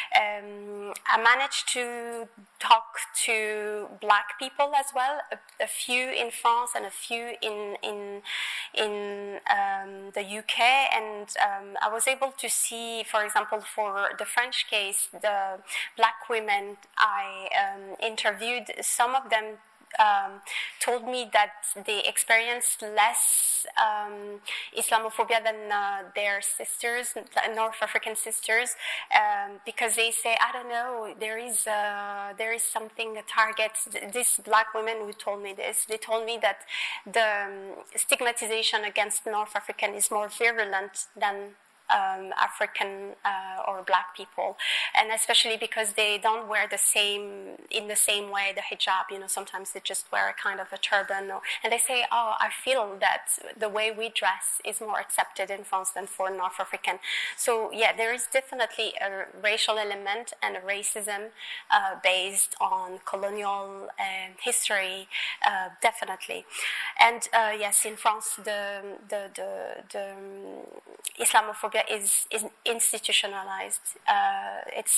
Um, I managed to talk to black people as well, a, a few in France and a few in in in um, the U K. And um, I was able to see, for example, for the French case, the black women I um, interviewed, some of them um, told me that they experienced less um, Islamophobia than uh, their sisters, North African sisters, um, because they say, I don't know, there is uh, there is something that targets these black women who told me this. They told me that the um, stigmatization against North African is more virulent than Um, African uh, or black people, and especially because they don't wear the same in the same way the hijab. You know, sometimes they just wear a kind of a turban, or, and they say, "Oh, I feel that the way we dress is more accepted in France than for North African." So yeah, there is definitely a racial element and a racism uh, based on colonial um, history, uh, definitely. And uh, yes, in France, the the the, the um, Islamophobia is is institutionalized. Uh, it's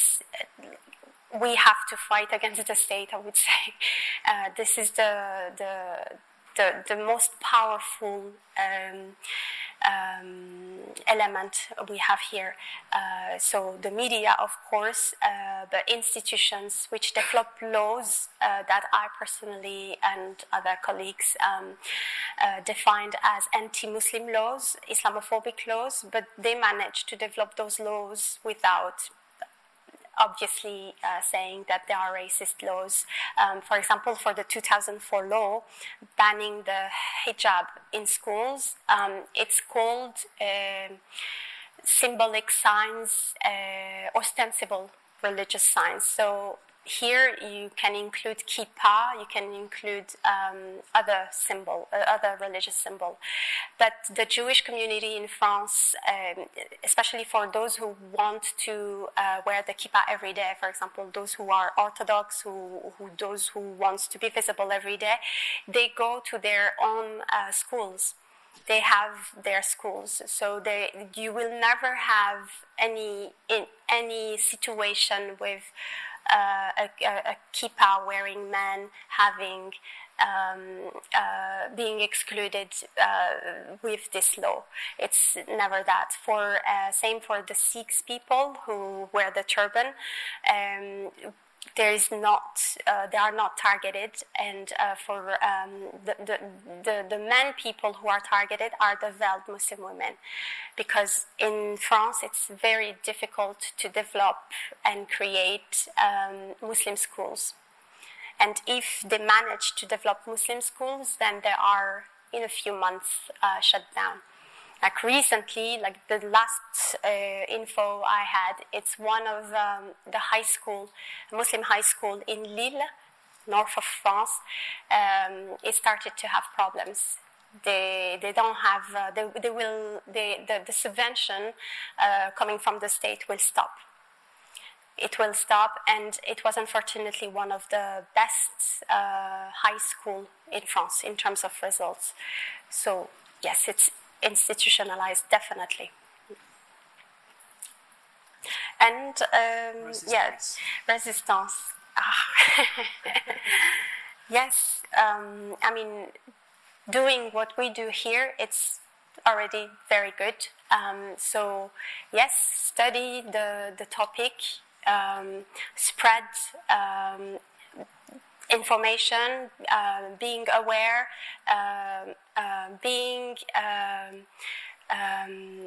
we have to fight against the state, I would say. Uh, this is the the the, the most powerful um, um, element we have here. Uh, so the media, of course, uh, the institutions which develop laws uh, that I personally and other colleagues um, uh, defined as anti-Muslim laws, Islamophobic laws, but they manage to develop those laws without obviously uh, saying that there are racist laws. Um, for example, for the two thousand four law banning the hijab in schools, um, it's called uh, symbolic signs, uh, ostensible religious signs. So here you can include kippah, you can include um, other symbol, uh, other religious symbol. But the Jewish community in France, um, especially for those who want to uh, wear the kippah every day, for example, those who are Orthodox, who, who those who want to be visible every day, they go to their own uh, schools. They have their schools, so they you will never have any in any situation with Uh, a, a, a kippah wearing man having um, uh, being excluded uh, with this law. It's never that. For uh, same for the Sikhs people who wear the turban. Um, There is not, uh, they are not targeted, and uh, for um, the, the the the men people who are targeted are the veiled Muslim women, because in France it's very difficult to develop and create um, Muslim schools, and if they manage to develop Muslim schools, then they are in a few months uh, shut down. Like recently, like the last uh, info I had, it's one of um, the high school, Muslim high school in Lille, north of France. Um, it started to have problems They they don't have uh, they they will they, the the subvention uh, coming from the state will stop. It will stop, and it was unfortunately one of the best uh, high school in France in terms of results. So yes, it's institutionalized, definitely. And um, Resistance. yes, resistance. Ah. Yes, um, I mean, doing what we do here, it's already very good. Um, so yes, study the the topic, um, spread um, information, uh, being aware, uh, uh, being um, um,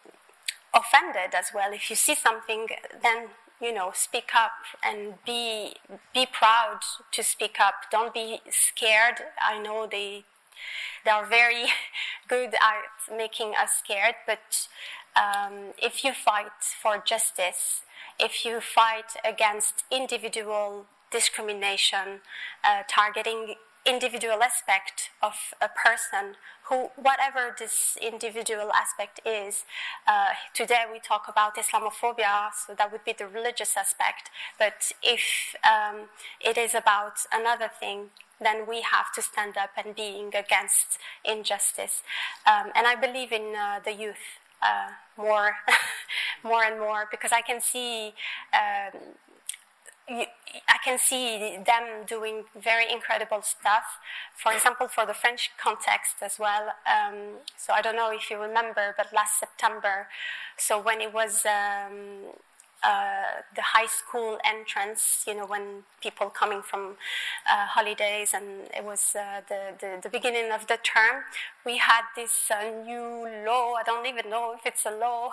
offended as well. If you see something, then you know, speak up and be be proud to speak up. Don't be scared. I know they they are very good at making us scared, but um, if you fight for justice, if you fight against individual discrimination, uh, targeting individual aspect of a person, who, whatever this individual aspect is, uh, today we talk about Islamophobia, so that would be the religious aspect, but if um, it is about another thing, then we have to stand up and being against injustice. Um, and I believe in uh, the youth uh, more, more and more, because I can see um, You, I can see them doing very incredible stuff. For example, for the French context as well. Um, so I don't know if you remember, but last September, so when it was um, uh, the high school entrance, you know, when people coming from uh, holidays, and it was uh, the, the, the beginning of the term, we had this uh, new law, I don't even know if it's a law,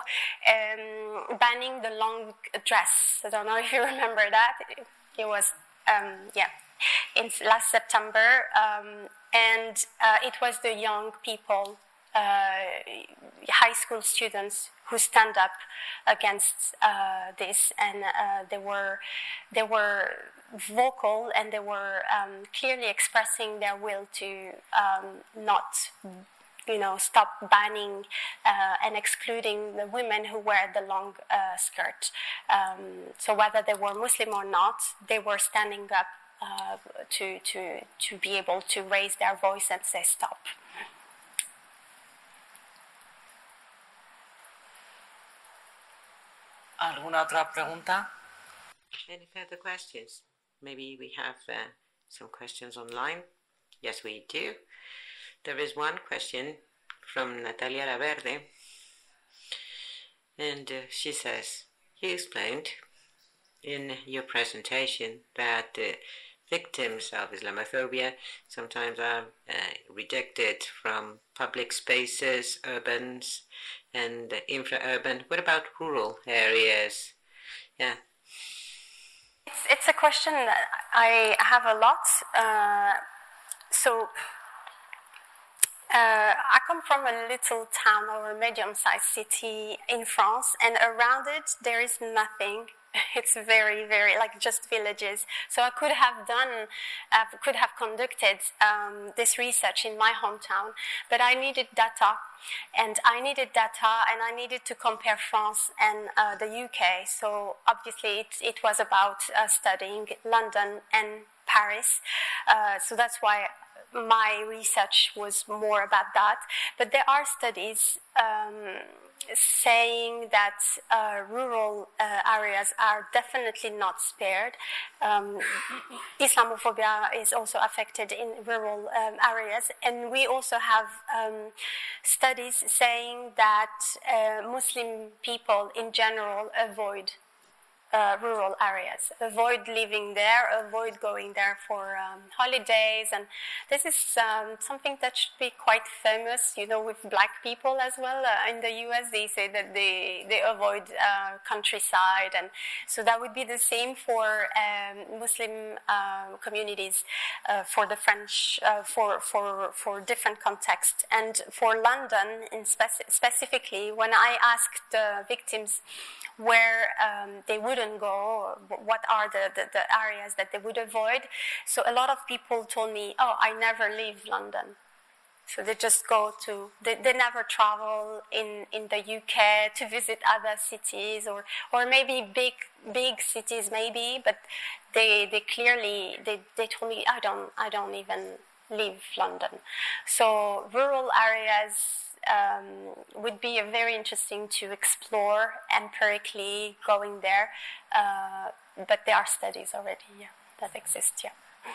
um, banning the long dress. I don't know if you remember that. It, it was, um, yeah, in last September, um, and uh, it was the young people, uh, high school students who stand up against uh, this, and uh, they were they were vocal, and they were um, clearly expressing their will to um, not, you know, stop banning uh, and excluding the women who wear the long uh, skirt. Um, so whether they were Muslim or not, they were standing up uh, to to to be able to raise their voice and say stop. ¿Alguna otra pregunta? Any further questions? Maybe we have uh, some questions online. Yes, we do. There is one question from Natalia Laverde, and uh, she says, you explained in your presentation that uh, victims of Islamophobia sometimes are uh, rejected from public spaces, urbans and uh, infra-urban. What about rural areas? Yeah. It's, it's a question that I have a lot. Uh, so uh, I come from a little town or a medium-sized city in France, and around it there is nothing. It's very, very, like just villages. So I could have done, uh, could have conducted um, this research in my hometown, but I needed data, and I needed data, and I needed to compare France and uh, the U K. So obviously it, it was about uh, studying London and Paris. Uh, so that's why my research was more about that. But there are studies um, saying that uh, rural uh, areas are definitely not spared. Um, Islamophobia is also affected in rural um, areas, and we also have um, studies saying that uh, Muslim people in general avoid Uh, rural areas, avoid living there, avoid going there for um, holidays, and this is um, something that should be quite famous, you know, with black people as well. Uh, in the U S, they say that they, they avoid uh, countryside, and so that would be the same for um, Muslim uh, communities, uh, for the French, uh, for, for, for different contexts. And for London in speci- specifically, when I asked the victims where um, they wouldn't go, what are the, the, the areas that they would avoid. So a lot of people told me, oh, I never leave London. So they just go to, they, they never travel in, in the U K to visit other cities or, or maybe big big cities maybe, but they they clearly, they, they told me, I don't, I don't even leave London. So rural areas um, would be a very interesting to explore empirically going there, uh, but there are studies already yeah, that exist, yeah.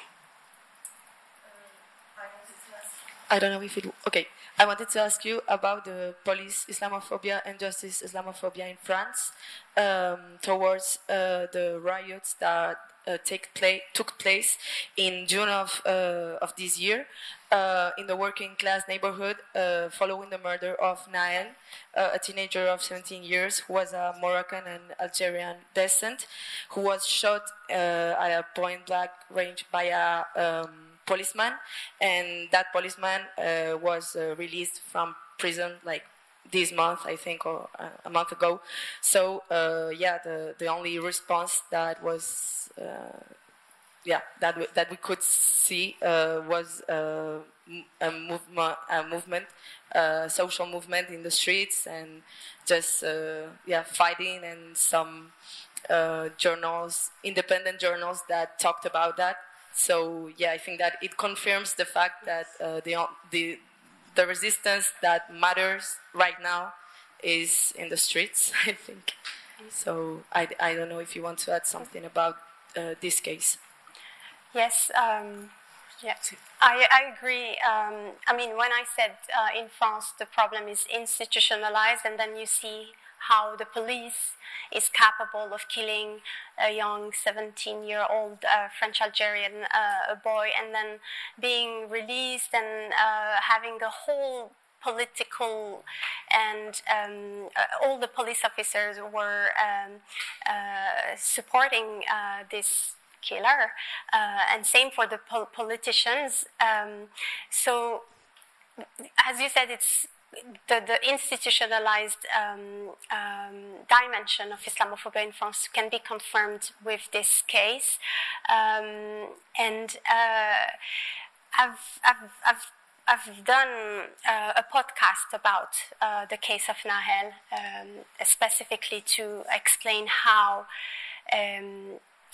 I don't know if it... Okay, I wanted to ask you about the police Islamophobia and justice Islamophobia in France um, towards uh, the riots that uh, take play, took place in June of, uh, of this year uh, in the working class neighborhood uh, following the murder of Nael, uh, a teenager of seventeen years who was a Moroccan and Algerian descent, who was shot uh, at a point-blank range by a... Um, policeman, and that policeman uh, was uh, released from prison like this month, I think, or uh, a month ago. So uh, yeah, the the only response that was uh, yeah that w- that we could see uh, was uh, a movement, a movement, a social movement in the streets, and just uh, yeah fighting, and some uh, journals, independent journals that talked about that. So yeah, I think that it confirms the fact that uh, the the the resistance that matters right now is in the streets, I think. So I, I don't know if you want to add something about uh, this case. Yes, um, yeah, I, I agree. Um, I mean, when I said uh, in France the problem is institutionalized, and then you see how the police is capable of killing a young seventeen-year-old uh, French-Algerian uh, boy, and then being released and uh, having the whole political and um, uh, all the police officers were um, uh, supporting uh, this killer, uh, and same for the pol- politicians. Um, so, as you said, it's The, the institutionalized um, um, dimension of Islamophobia in France can be confirmed with this case, um, and uh, I've, I've, I've, I've done uh, a podcast about uh, the case of Nahel, um, specifically to explain how um,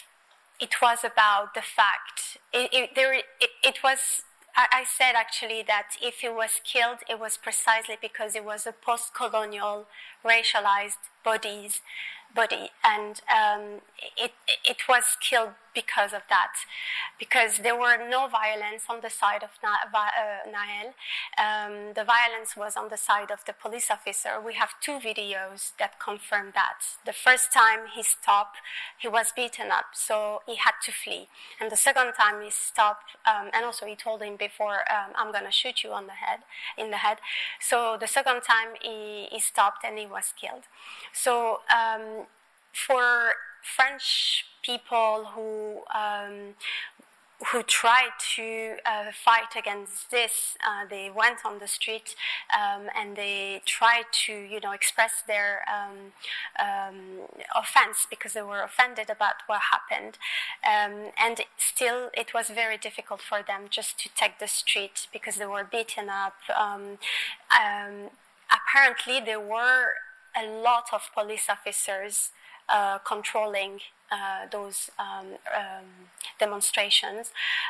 it was about the fact it, it, there, it, it was. I said actually that if he was killed, it was precisely because it was a post-colonial, racialized bodies, body, and um, it it was killed because of that, because there were no violence on the side of Na- uh, Nahel. Um, the violence was on the side of the police officer. We have two videos that confirm that. The first time he stopped, he was beaten up, so he had to flee. And the second time he stopped, um, and also he told him before, um, I'm going to shoot you on the head, in the head. So the second time he, he stopped and he was killed. So um, for French people who um, who tried to uh, fight against this, uh, they went on the street um, and they tried to, you know, express their um, um, offense because they were offended about what happened, um, and still it was very difficult for them just to take the street because they were beaten up. Um, um, apparently, there were a lot of police officers Uh, controlling uh, those um, um, demonstrations.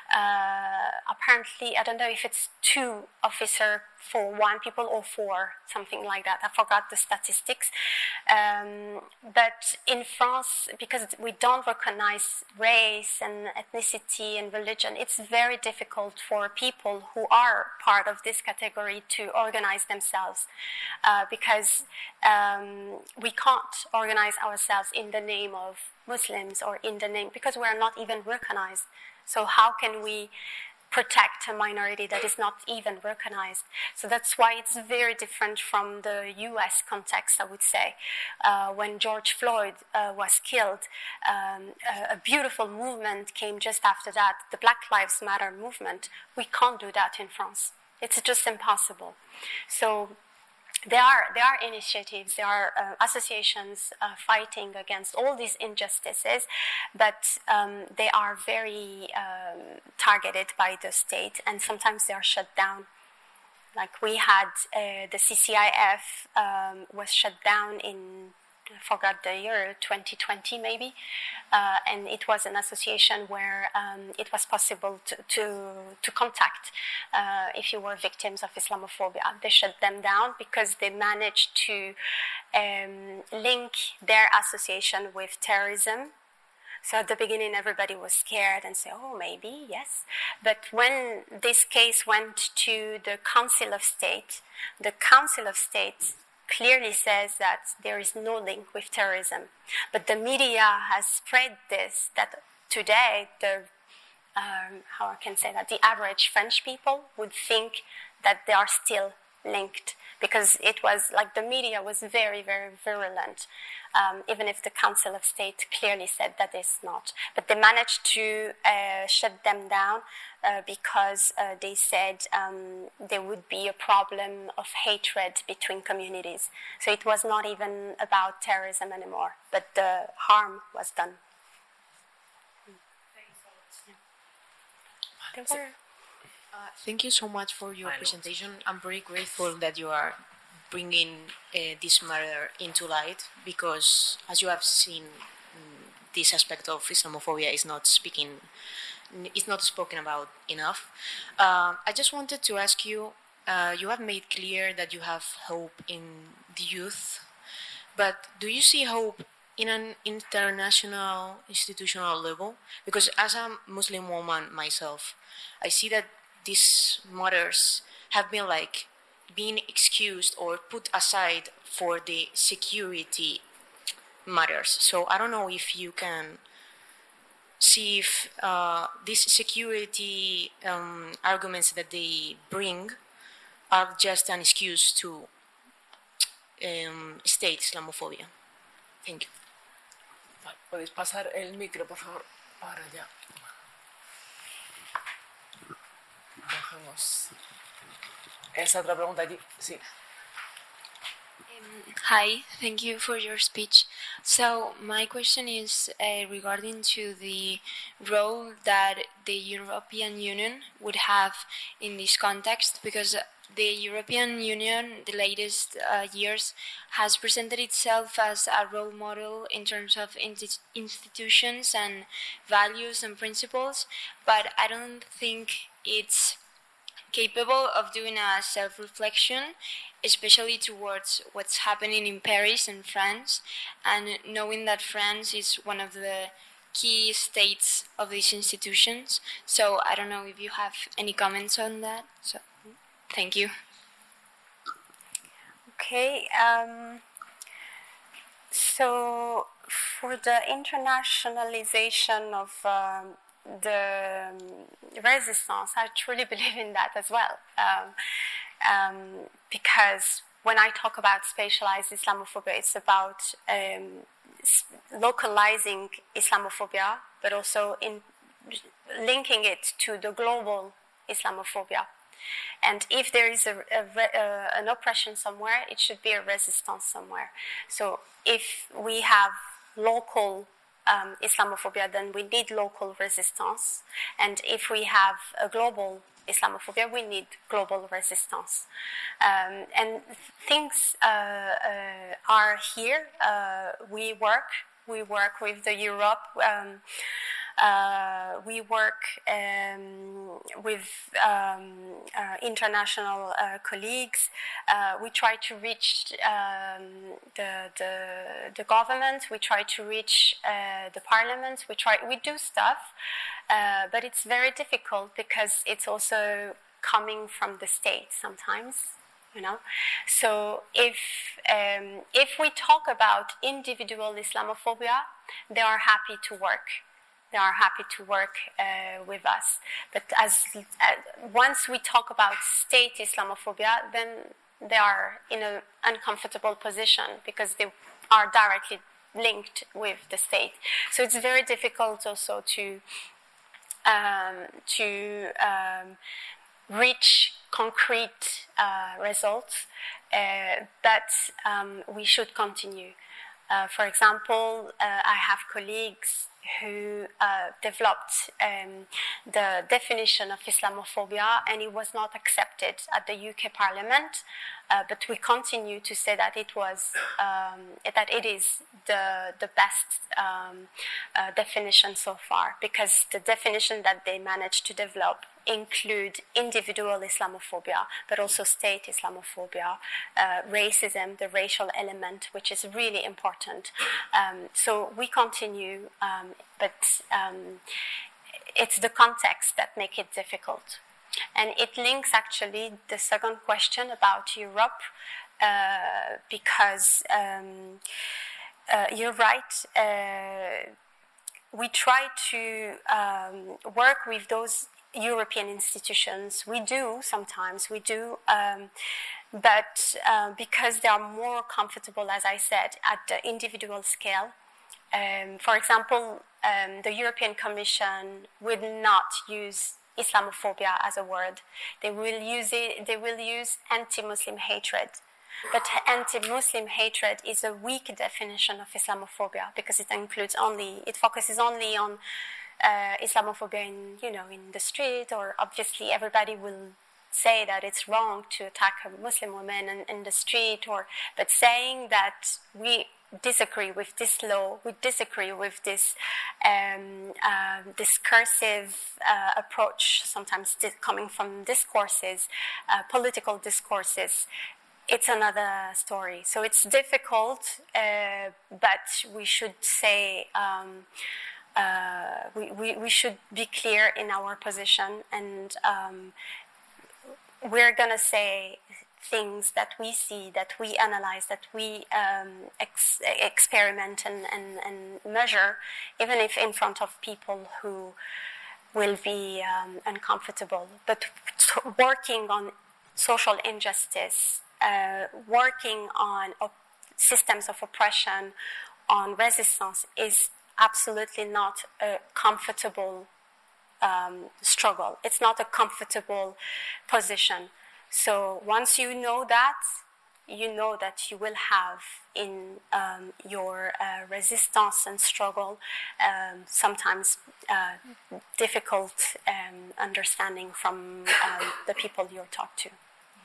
Uh, apparently, I don't know if it's two officers for one people or four, something like that. I forgot the statistics. Um, but in France, because we don't recognize race and ethnicity and religion, it's very difficult for people who are part of this category to organize themselves, uh, because um, we can't organize ourselves in the name of Muslims or in the name, because we are not even recognized. So how can we protect a minority that is not even recognized? So that's why it's very different from the U S context, I would say. Uh, when George Floyd uh, was killed, um, a, a beautiful movement came just after that, the Black Lives Matter movement. We can't do that in France. It's just impossible. So There are there are initiatives, there are uh, associations uh, fighting against all these injustices, but um, they are very um, targeted by the state, and sometimes they are shut down. Like we had uh, the C C I F um, was shut down in, I forgot the year, twenty twenty maybe, uh, and it was an association where um, it was possible to to, to contact uh, if you were victims of Islamophobia. They shut them down because they managed to um, link their association with terrorism. So at the beginning, everybody was scared and said, oh, maybe, yes. But when this case went to the Council of State, the Council of State clearly says that there is no link with terrorism. But the media has spread this, that today, the um, how I can say that, the average French people would think that they are still linked, because it was like the media was very, very virulent, um, even if the Council of State clearly said that it's not. But they managed to uh, shut them down uh, because uh, they said um, there would be a problem of hatred between communities. So it was not even about terrorism anymore, but the harm was done. There were Uh, thank you so much for your presentation. I'm very grateful that you are bringing uh, this matter into light, because, as you have seen, mm, this aspect of Islamophobia is not speaking, is not spoken about enough. Uh, I just wanted to ask you. Uh, you have made clear that you have hope in the youth, but do you see hope in an international, institutional level? Because as a Muslim woman myself, I see that these matters have been like being excused or put aside for the security matters. So I don't know if you can see if uh, these security um, arguments that they bring are just an excuse to um, state Islamophobia. Thank you. ¿Podéis pasar el micro, por favor, para allá? Dejamos esa otra pregunta allí. Sí. Um, hi, thank you for your speech. So my question is uh, regarding to the role that the European Union would have in this context, because the European Union, the latest uh, years, has presented itself as a role model in terms of inti- institutions and values and principles, but I don't think it's capable of doing a self-reflection, especially towards what's happening in Paris and France, and knowing that France is one of the key states of these institutions. So I don't know if you have any comments on that. So thank you. Okay. Um, so for the internationalization of um, the resistance, I truly believe in that as well. Um, um, because when I talk about spatialized Islamophobia, it's about um, localizing Islamophobia, but also in linking it to the global Islamophobia. And if there is a, a, a, an oppression somewhere, it should be a resistance somewhere. So if we have local um, Islamophobia, then we need local resistance. And if we have a global Islamophobia, we need global resistance. Um, and things uh, uh, are here. Uh, we work. We work with the Europe. Um, Uh, we work um, with um, uh, international uh, colleagues. Uh, we try to reach um, the, the the government. We try to reach uh, the parliament. We try. We do stuff, uh, but it's very difficult because it's also coming from the state sometimes. You know, so if um, if we talk about individual Islamophobia, they are happy to work. They are happy to work uh, with us. But as uh, once we talk about state Islamophobia, then they are in an uncomfortable position because they are directly linked with the state. So it's very difficult also to um, to um, reach concrete uh, results, uh, but um, we should continue. Uh, for example, uh, I have colleagues who uh, developed um, the definition of Islamophobia, and it was not accepted at the U K Parliament. Uh, but we continue to say that it was um, that it is the the best um, uh, definition so far, because the definition that they managed to develop include individual Islamophobia, but also state Islamophobia, uh, racism, the racial element, which is really important. Um, so we continue, um, but um, it's the context that make it difficult. And it links actually the second question about Europe, uh, because um, uh, you're right. Uh, we try to um, work with those European institutions. We do sometimes, we do, um, but uh, because they are more comfortable, as I said, at the individual scale. Um, for example, um, the European Commission would not use Islamophobia as a word. They will use it. They will use anti-Muslim hatred. But anti-Muslim hatred is a weak definition of Islamophobia because it includes only, it focuses only on uh, Islamophobia in, you know, in the street, or obviously everybody will say that it's wrong to attack a Muslim woman in, in the street, or, but saying that we disagree with this law, we disagree with this um, uh, discursive uh, approach, sometimes di- coming from discourses, uh, political discourses, it's another story. So it's difficult, uh, but we should say, um, uh, we, we, we should be clear in our position, and um, we're going to say things that we see, that we analyze, that we um, ex- experiment and, and, and measure, even if in front of people who will be um, uncomfortable. But t- working on social injustice, uh, working on op- systems of oppression, on resistance is absolutely not a comfortable um, struggle. It's not a comfortable position. So once you know that, you know that you will have in um, your uh, resistance and struggle um, sometimes uh, difficult um, understanding from um, the people you're talked to.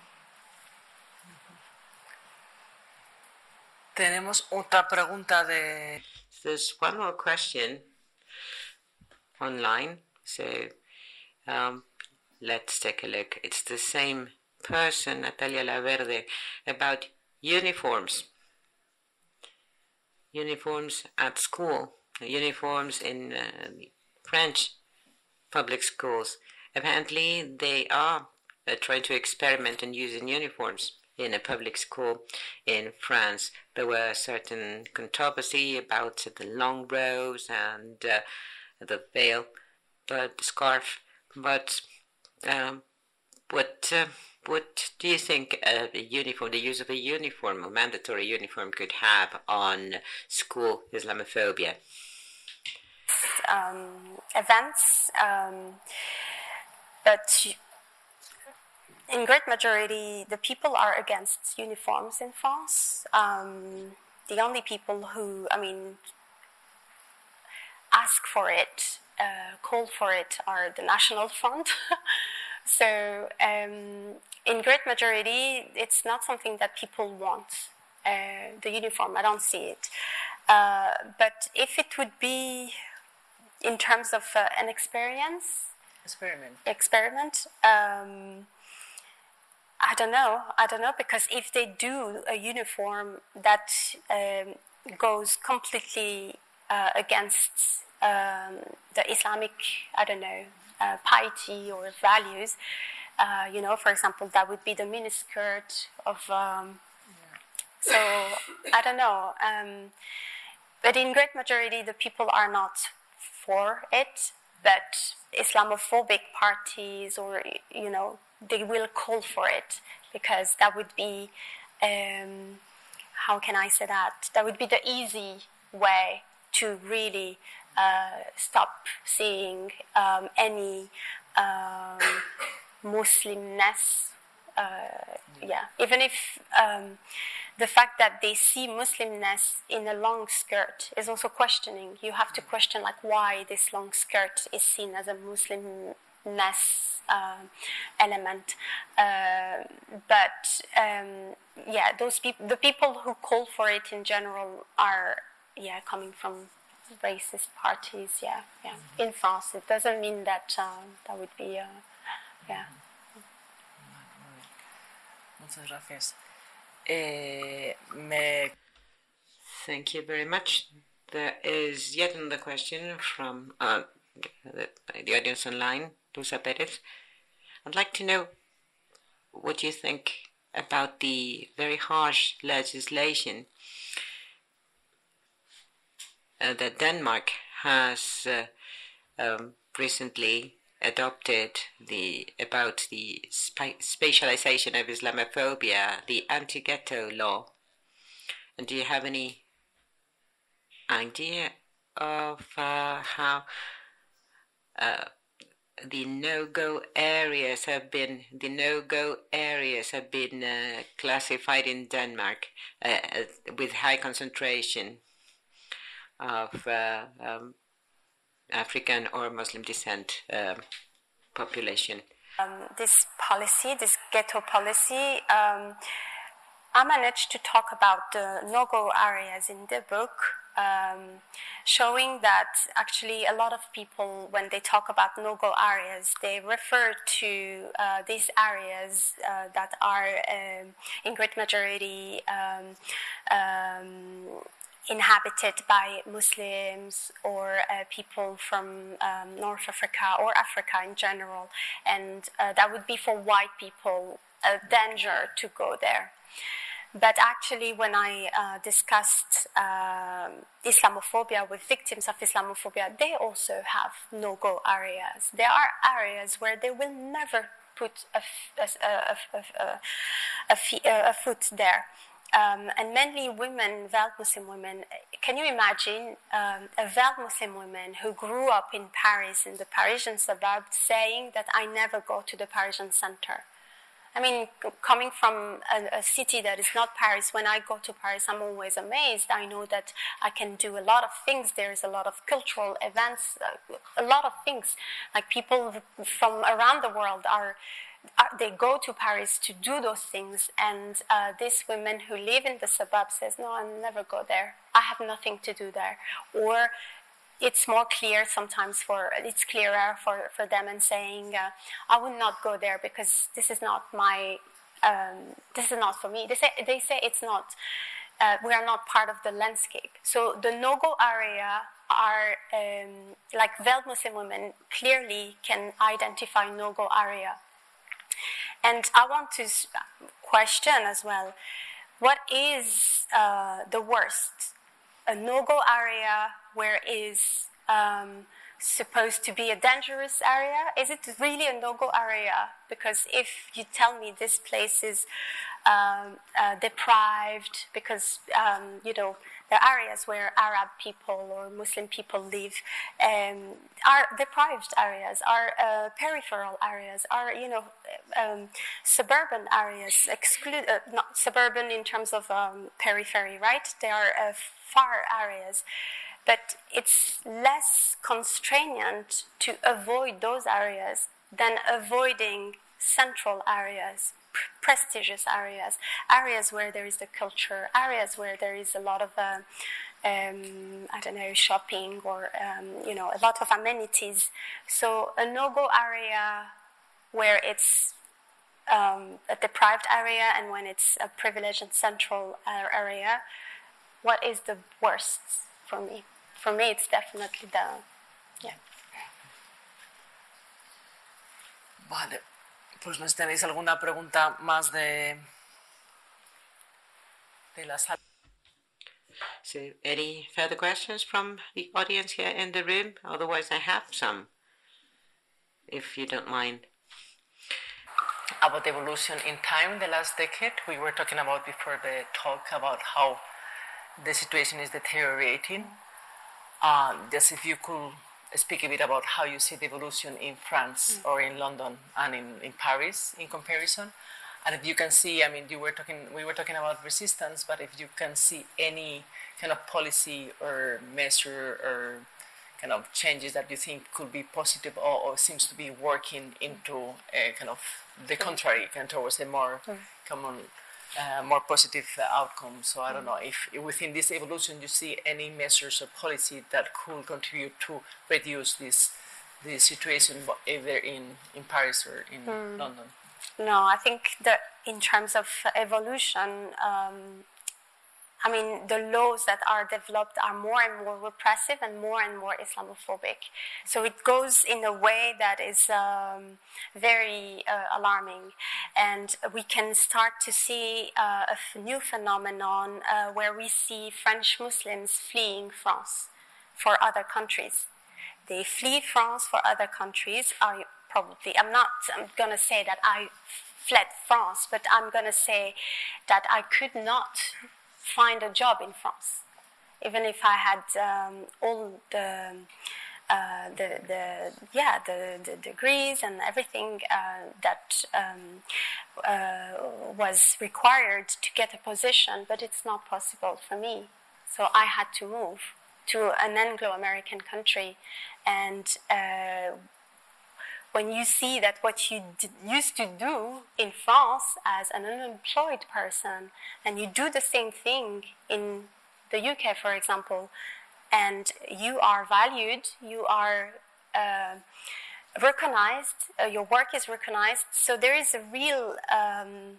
Tenemos otra pregunta de... There's one more question online, so um, let's take a look. It's the same person, Natalia Laverde, about uniforms. Uniforms at school, uniforms in uh, French public schools. Apparently, they are uh, trying to experiment in using uniforms in a public school in France. There were certain controversy about the long robes and uh, the veil, but the scarf. But um, what uh, what do you think uh, the uniform, the use of a uniform, a mandatory uniform, could have on school Islamophobia? Um, events, um, but in great majority, the people are against uniforms in France. Um, the only people who, I mean, ask for it, uh, call for it, are the National Front. So, um, in great majority, it's not something that people want. Uh, the uniform, I don't see it. Uh, but if it would be in terms of uh, an experience, experiment, experiment. Um, I don't know. I don't know, because if they do a uniform that um, goes completely uh, against um, the Islamic, I don't know, uh, piety or values, uh, you know, for example, that would be the miniskirt of. Um, so I don't know. Um, but in great majority, the people are not for it. But Islamophobic parties, or you know, they will call for it, because that would be, um, how can I say that? That would be the easy way to really uh, stop seeing um, any um, Muslimness. Uh, yeah, even if um, the fact that they see Muslimness in a long skirt is also questioning. You have to question like why this long skirt is seen as a Muslimness uh, element. Uh, but um, yeah, those people, the people who call for it in general are yeah coming from racist parties. Yeah, yeah. In France, it doesn't mean that um, that would be uh, yeah. Muchas gracias. Eh, me... Thank you very much. There is yet another question from uh, the, the audience online, Luisa Perez. I'd like to know what you think about the very harsh legislation uh, that Denmark has uh, um, recently adopted the about the spa- spatialization of Islamophobia, the anti-ghetto law. And do you have any idea of uh, how uh, the no-go areas have been the no-go areas have been uh, classified in Denmark uh, with high concentration of uh, um, African or Muslim descent um, population? Um, this policy, this ghetto policy, um, I managed to talk about the no-go areas in the book, um, showing that actually a lot of people, when they talk about no-go areas, they refer to uh, these areas uh, that are um, in great majority um, um, inhabited by Muslims or uh, people from um, North Africa or Africa in general, and uh, that would be for white people a danger to go there. But actually, when I uh, discussed um, Islamophobia with victims of Islamophobia, they also have no-go areas. There are areas where they will never put a, a, a, a, a, a, a foot there. Um, and mainly women, veiled Muslim women. Can you imagine um, a veiled Muslim woman who grew up in Paris, in the Parisian suburb, saying that I never go to the Parisian center? I mean, coming from a, a city that is not Paris, when I go to Paris, I'm always amazed. I know that I can do a lot of things. There is a lot of cultural events, uh, a lot of things. Like people from around the world are... they go to Paris to do those things, and uh, these women who live in the suburbs says, no, I'll never go there. I have nothing to do there. Or it's more clear sometimes for, it's clearer for, for them and saying, uh, I would not go there because this is not my, um, this is not for me. They say, they say it's not, uh, we are not part of the landscape. So the no-go area are, um, like veiled Muslim women clearly can identify no-go area. And I want to question as well, what is uh, the worst? A no-go area where is um, supposed to be a dangerous area? Is it really a no-go area? Because if you tell me this place is um, uh, deprived, because, um, you know, the areas where Arab people or Muslim people live um, are deprived areas, are uh, peripheral areas, are, you know, um, suburban areas, exclude, uh, not suburban in terms of um, periphery, right? They are uh, far areas. But it's less constrainant to avoid those areas than avoiding central areas, prestigious areas, areas where there is the culture, areas where there is a lot of, uh, um, I don't know, shopping or, um, you know, a lot of amenities. So a no-go area where it's um, a deprived area and when it's a privileged and central area, what is the worst for me? For me, it's definitely the, yeah. Vale. Pues no sé si tenéis alguna pregunta más de, de la sala. So, any further questions from the audience here in the room? Otherwise, I have some, if you don't mind. About evolution in time, the last decade, we were talking about before the talk about how the situation is deteriorating. Uh, just if you could speak a bit about how you see the evolution in France mm. or in London and in, in Paris in comparison, And if you can see, I mean, you were talking, we were talking about resistance, but if you can see any kind of policy or measure or kind of changes that you think could be positive or, or seems to be working into a kind of the contrary, kind of towards a more mm. common, uh, more positive outcome. So I don't know if within this evolution you see any measures or policy that could contribute to reduce this this situation, either in, in Paris or in mm. London. No, I think that in terms of evolution, um, I mean, the laws that are developed are more and more repressive and more and more Islamophobic. So it goes in a way that is um, very uh, alarming. And we can start to see uh, a f- new phenomenon uh, where we see French Muslims fleeing France for other countries. They flee France for other countries. I probably, I'm not I'm going to say that I fled France, but I'm going to say that I could not find a job in France, even if I had um, all the, uh, the the yeah the, the degrees and everything uh, that um, uh, was required to get a position, but it's not possible for me. So I had to move to an Anglo-American country, and uh, when you see that what you d- used to do in France as an unemployed person, and you do the same thing in the U K, for example, and you are valued, you are uh, recognized, uh, your work is recognized, so there is a real, um,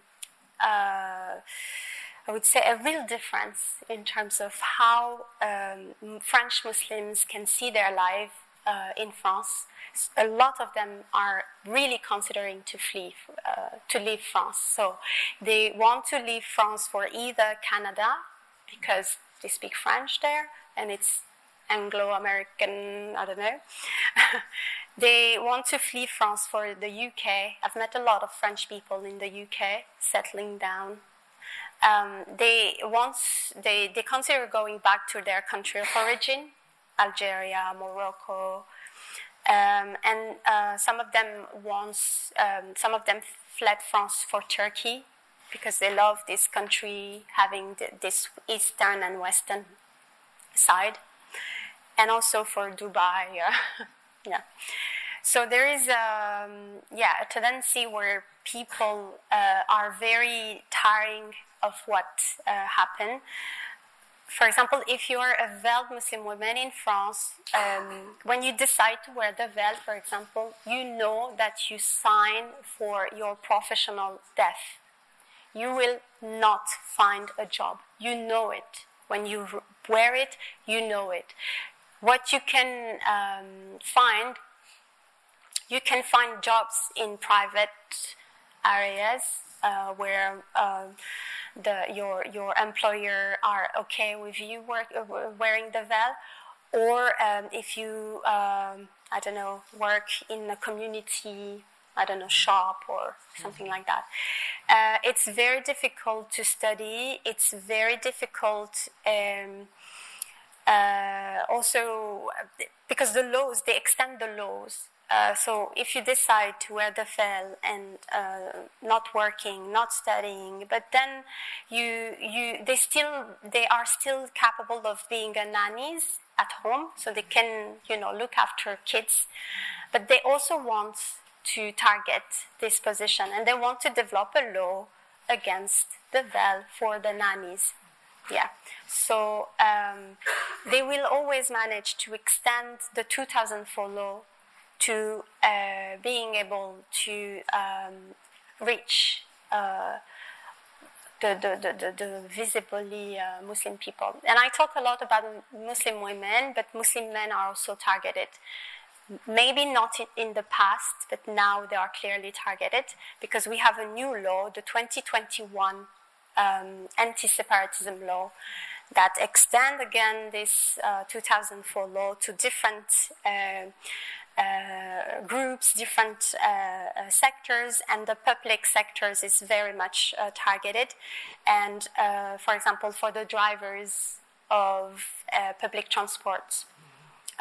uh, I would say, a real difference in terms of how um, French Muslims can see their life uh, in France. A lot of them are really considering to flee, uh, to leave France. So they want to leave France for either Canada, because they speak French there, and it's Anglo-American, I don't know. They want to flee France for the U K. I've met a lot of French people in the U K settling down. Um, they want, they, they consider going back to their country of origin, Algeria, Morocco. Um, and uh, some of them wants, um, some of them fled France for Turkey because they love this country having the, this eastern and western side, and also for Dubai. Uh, yeah. So there is um, yeah a tendency where people uh, are very tiring of what uh, happened. For example, if you are a veiled Muslim woman in France, um, when you decide to wear the veil, for example, you know that you sign for your professional death. You will not find a job. You know it. When you wear it, you know it. What you can um, find, you can find jobs in private areas uh, where uh, the your your employer are okay with you work, uh, wearing the veil, or um, if you um, I don't know work in a community, I don't know, shop or something like that. Uh, it's very difficult to study. It's very difficult um, uh, also because the laws, they extend the laws. Uh, so if you decide to wear the veil and uh, not working, not studying, but then you you they still they are still capable of being a nannies at home, so they can you know look after kids, but they also want to target this position, and they want to develop a law against the veil for the nannies. Yeah, so um, they will always manage to extend the two thousand four law to uh, being able to um, reach uh, the, the, the, the, the visibly uh, Muslim people. And I talk a lot about Muslim women, but Muslim men are also targeted. Maybe not in the past, but now they are clearly targeted because we have a new law, the twenty twenty-one um, anti-separatism law, that extend again this uh, two thousand four law to different uh, uh, groups, different uh, uh, sectors, and the public sectors is very much uh, targeted. And uh, for example, for the drivers of uh, public transport,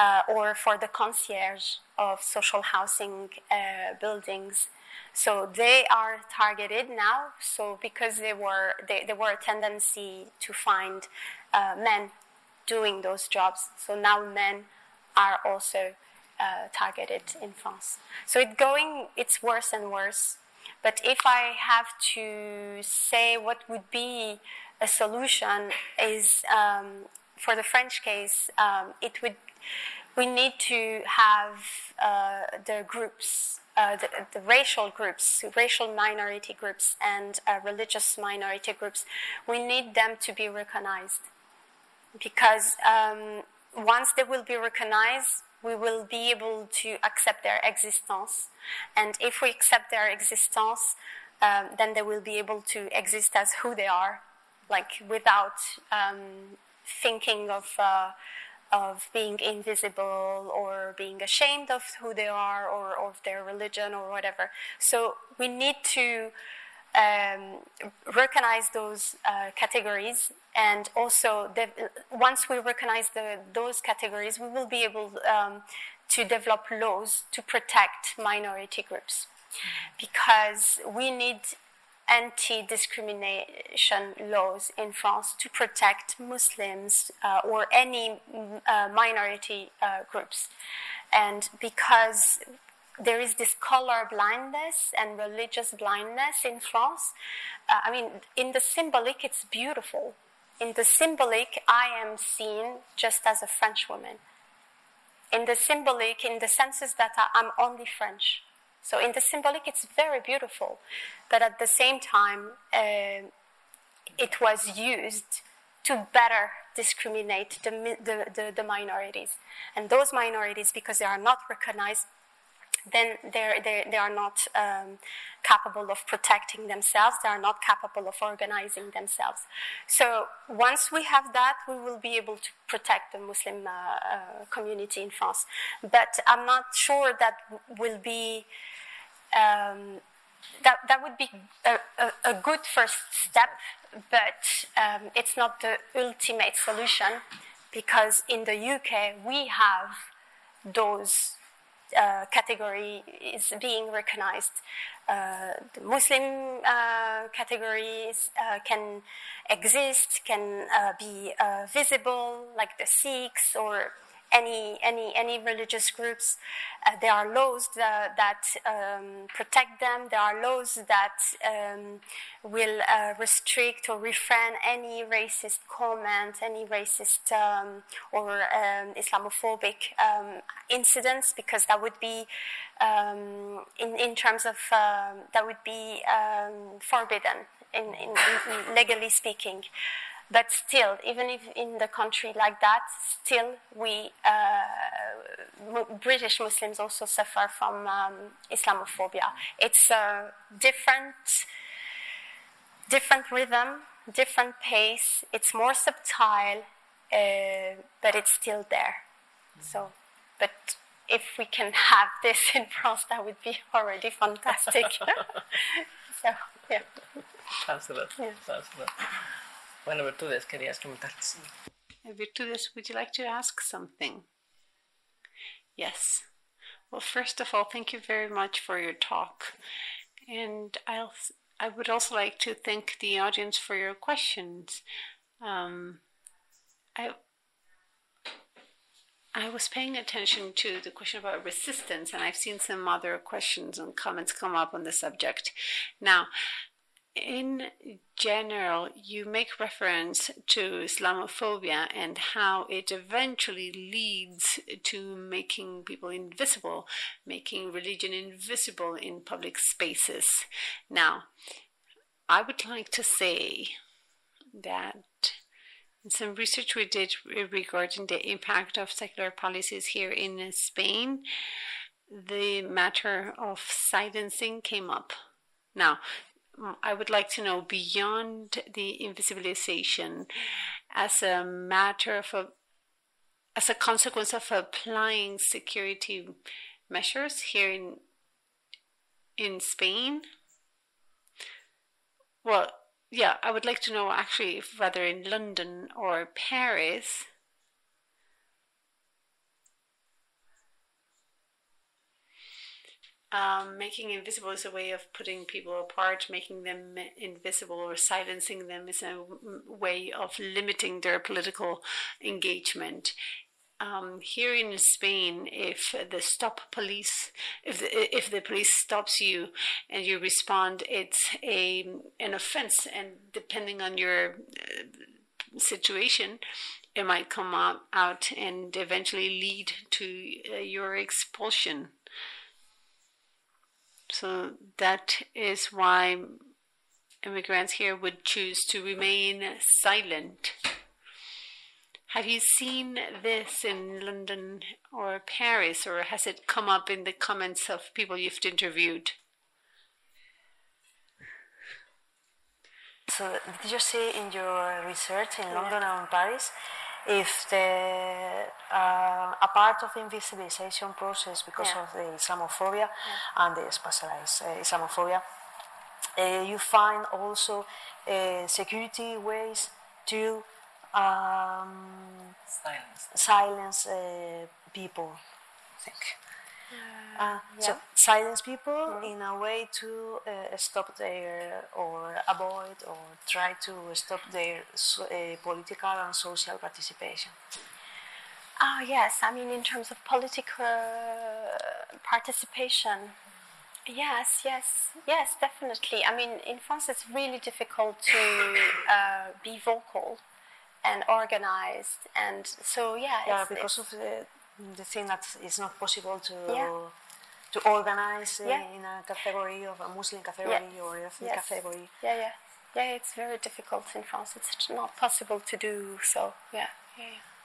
uh, or for the concierge of social housing uh, buildings. So they are targeted now. So because they were they, there were a tendency to find uh, men doing those jobs, so now men are also uh, targeted in France. So it's going, it's worse and worse. But if I have to say what would be a solution, is um, for the French case, um, it would we need to have uh, the groups. Uh, the, the racial groups, racial minority groups, and uh, religious minority groups, we need them to be recognized. Because um, once they will be recognized, we will be able to accept their existence. And if we accept their existence, um, then they will be able to exist as who they are, like without um, thinking of... Uh, of being invisible or being ashamed of who they are or, or of their religion or whatever. So we need to um, recognize those uh, categories, and also the, once we recognize the, those categories, we will be able um, to develop laws to protect minority groups, because we need anti-discrimination laws in France to protect Muslims uh, or any uh, minority uh, groups. And because there is this color blindness and religious blindness in France, uh, I mean, in the symbolic, it's beautiful. In the symbolic, I am seen just as a French woman. In the symbolic, in the senses that I, I'm only French. So in the symbolic, it's very beautiful, but at the same time, uh, it was used to better discriminate the, the, the, the minorities. And those minorities, because they are not recognized, then they're, they're, they are not um, capable of protecting themselves, they are not capable of organizing themselves. So once we have that, we will be able to protect the Muslim uh, uh, community in France. But I'm not sure that will be... Um, that that would be a, a, a good first step, but um, it's not the ultimate solution, because in the U K we have those uh, categories being recognized. Uh, the Muslim uh, categories uh, can exist, can uh, be uh, visible, like the Sikhs or any any any religious groups. Uh, there are laws that, that um, protect them. There are laws that um, will uh, restrict or refrain any racist comment, any racist um, or um, Islamophobic um, incidents, because that would be um, in in terms of um, that would be um, forbidden in, in, in legally speaking. But still, even if in the country like that, still we, uh, British Muslims also suffer from um, Islamophobia. It's a different, different rhythm, different pace. It's more subtle, uh, but it's still there. So, but if we can have this in France, that would be already fantastic. So, yeah. Absolutely. Yes. Absolutely. Bueno, Virtudes, querías comentar. Virtudes, would you like to ask something? Yes. Well, first of all, thank you very much for your talk. And I'll, I would also like to thank the audience for your questions. Um, I, I was paying attention to the question about resistance, and I've seen some other questions and comments come up on the subject. Now, in general, you make reference to Islamophobia and how it eventually leads to making people invisible, making religion invisible in public spaces. Now, I would like to say that in some research we did regarding the impact of secular policies here in Spain, the matter of silencing came up. Now, I would like to know, beyond the invisibilization, as a matter of a, as a consequence of applying security measures here in in Spain. Well, yeah, I would like to know actually, if whether in London or Paris, Um, making invisible is a way of putting people apart. Making them invisible or silencing them is a way of limiting their political engagement. Um, here in Spain, if the stop police, if the, if the police stops you and you respond, it's a an offense, and depending on your uh, situation, it might come out, out and eventually lead to uh, your expulsion. So that is why immigrants here would choose to remain silent. Have you seen this in London or Paris, or has it come up in the comments of people you've interviewed? So did you see in your research in London and Paris if the uh, a part of the invisibilization process because yeah. of the Islamophobia yeah. and the specialized uh, Islamophobia, uh, you find also uh, security ways to um, silence, silence uh, people, I think. Uh, yeah. So silence people mm-hmm. in a way to uh, stop their or avoid or try to stop their so, uh, political and social participation. Ah, uh, yes. I mean, in terms of political participation, yes, yes, yes, definitely. I mean, in France, it's really difficult to uh, be vocal and organized, and so yeah. Yeah, it's, because it's, of the. The thing that it's not possible to yeah. to organize uh, yeah. in a category of a Muslim category yeah. or ethnic yes. category. Yeah, yeah, yeah. It's very difficult in France. It's not possible to do so. Yeah, yeah.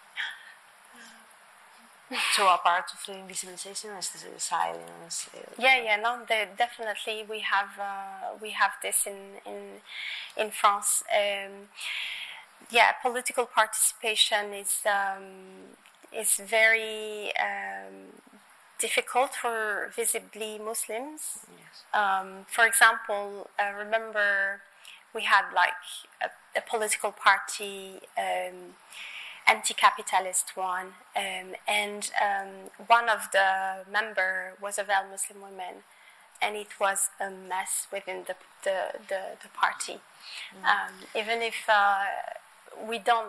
yeah. So a part of the invisibilization is the silence. Uh, yeah, yeah. No, the, definitely we have uh, we have this in in in France. Um, yeah, political participation is. Um, It's very um, difficult for visibly Muslims. Yes. Um, for example, I remember we had like a, a political party, um, anti-capitalist one, um, and um, one of the member was a very Muslim woman, and it was a mess within the the, the, the party. Mm. Um, even if uh, we don't.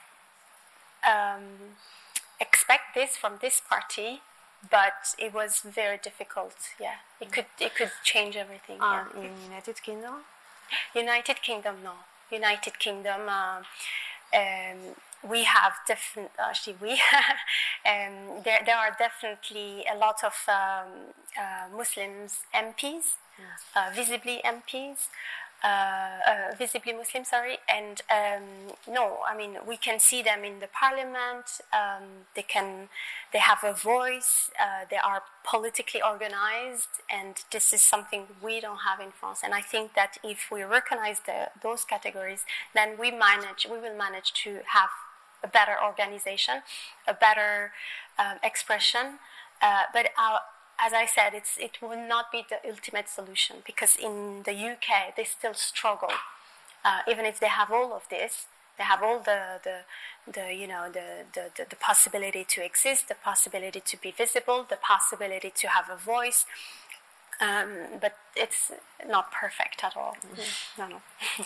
Um, expect this from this party, but it was very difficult. Yeah, it could it could change everything. Uh, yeah. In United Kingdom, United Kingdom, no. United Kingdom, uh, um, we have different. Actually, we um, there there are definitely a lot of um, uh, Muslims M Ps, yes. uh, visibly M Ps. Uh, uh, visibly Muslim, sorry, and um, no, I mean we can see them in the parliament. Um, they can, they have a voice. Uh, they are politically organized, and this is something we don't have in France. And I think that if we recognize the, those categories, then we manage, we will manage to have a better organization, a better um, expression. Uh, but our As I said, it's, it will not be the ultimate solution, because in the U K they still struggle, uh, even if they have all of this. They have all the, the, the you know, the, the, the, the possibility to exist, the possibility to be visible, the possibility to have a voice, um, but it's not perfect at all. Mm. No, no.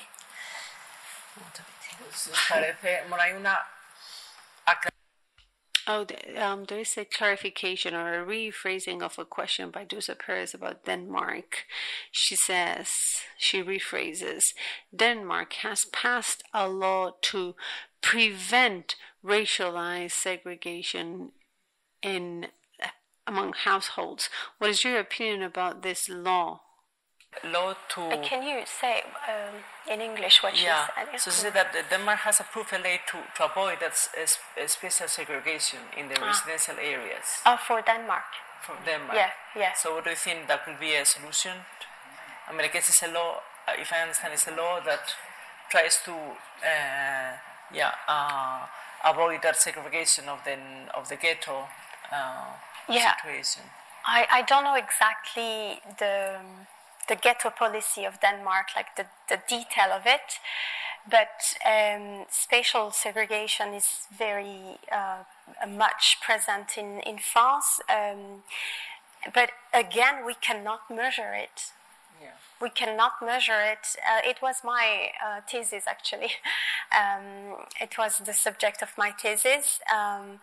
Oh, um, there is a clarification or a rephrasing of a question by Dusa Perez about Denmark. She says, she rephrases, Denmark has passed a law to prevent racialized segregation in among households. What is your opinion about this law? Law to... Uh, can you say um, in English what yeah. she said? Yeah. So she said that Denmark has approved a law to, to avoid that special segregation in the ah. residential areas. Oh, for Denmark? For Denmark. Yeah, yeah. So what do you think that could be a solution? I mean, I guess it's a law, if I understand, it's a law that tries to uh, yeah, uh, avoid that segregation of the, of the ghetto uh, yeah. situation. I, I don't know exactly the... the ghetto policy of Denmark, like the, the detail of it, but um, spatial segregation is very uh, much present in, in France. Um, but again, we cannot measure it. Yeah. We cannot measure it. Uh, it was my uh, thesis, actually. Um, it was the subject of my thesis. Um,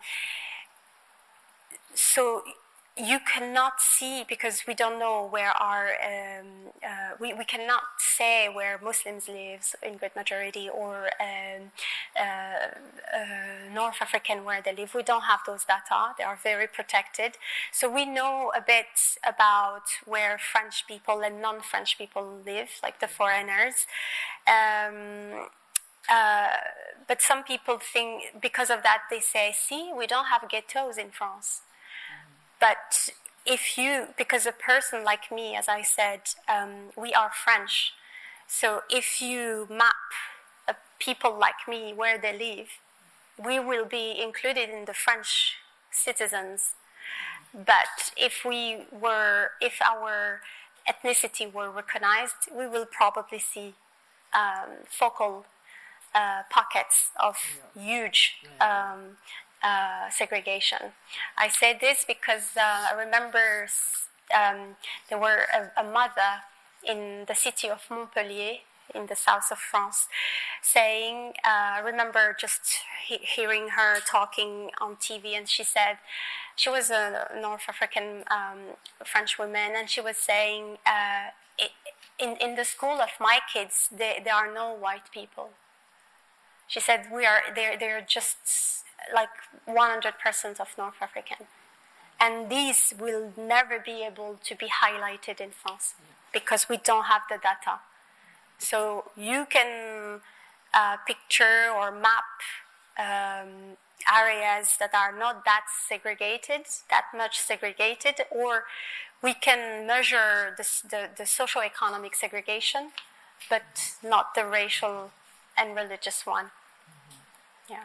so you cannot see, because we don't know where our, um, uh, we, we cannot say where Muslims live in great majority, or um, uh, uh, North African where they live. We don't have those data. They are very protected. So we know a bit about where French people and non-French people live, like the foreigners. Um, uh, but some people think, because of that, they say, see, we don't have ghettos in France. But if you, because a person like me, as I said, um, we are French. So if you map uh, people like me where they live, we will be included in the French citizens. But if we were, if our ethnicity were recognized, we will probably see um, focal uh, pockets of huge um, Uh, segregation. I say this because uh, I remember um, there were a, a mother in the city of Montpellier, in the south of France, saying, uh, I remember just he- hearing her talking on T V, and she said, she was a North African um, French woman, and she was saying, uh, it, in, in the school of my kids, there, there are no white people. She said, we are, they're, they're just like one hundred percent of North African. And these will never be able to be highlighted in France because we don't have the data. So you can uh, picture or map um, areas that are not that segregated, that much segregated, or we can measure the, the, the socio-economic segregation, but not the racial and religious one. Yeah.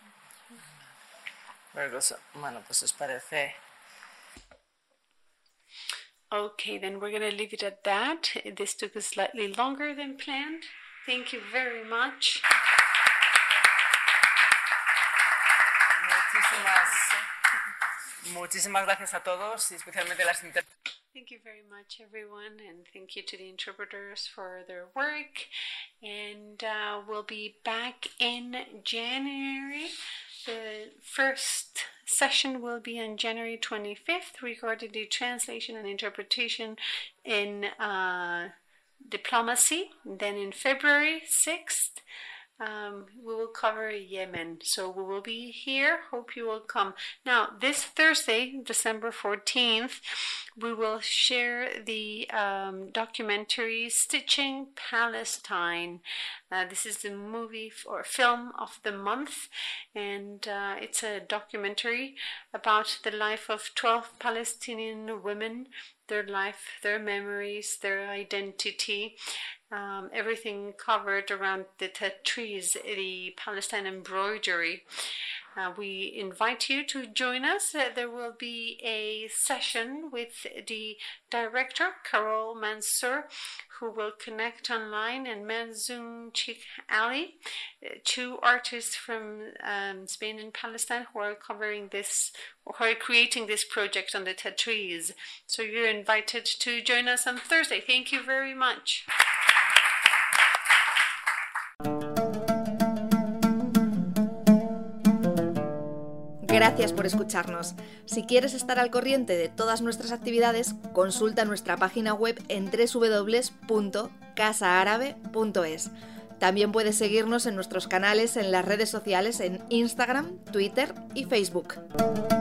Very good. Bueno, pues os parece. Okay, then we're going to leave it at that. This took us slightly longer than planned. Thank you very much. Muchísimas, muchísimas gracias a todos, y especialmente las inter- Thank you very much, everyone, and thank you to the interpreters for their work. And uh, we'll be back in January. The first session will be on January twenty-fifth regarding the translation and interpretation in uh, diplomacy. Then in February sixth, um, we will cover Yemen. So we will be here. Hope you will come. Now, this Thursday, December fourteenth, we will share the um, documentary Stitching Palestine. Uh, this is the movie f- or film of the month, and uh, it's a documentary about the life of twelve Palestinian women, their life, their memories, their identity, um, everything covered around the tatreez, the Palestine embroidery. Uh, we invite you to join us. Uh, there will be a session with the director, Carol Mansour, who will connect online, and Manzoum Sheikh Ali, uh, two artists from um, Spain and Palestine who are covering this, who are creating this project on the tatreez. So you're invited to join us on Thursday. Thank you very much. Gracias por escucharnos. Si quieres estar al corriente de todas nuestras actividades, consulta nuestra página web en doble u doble u doble u punto casa árabe punto es. También puedes seguirnos en nuestros canales en las redes sociales en Instagram, Twitter y Facebook.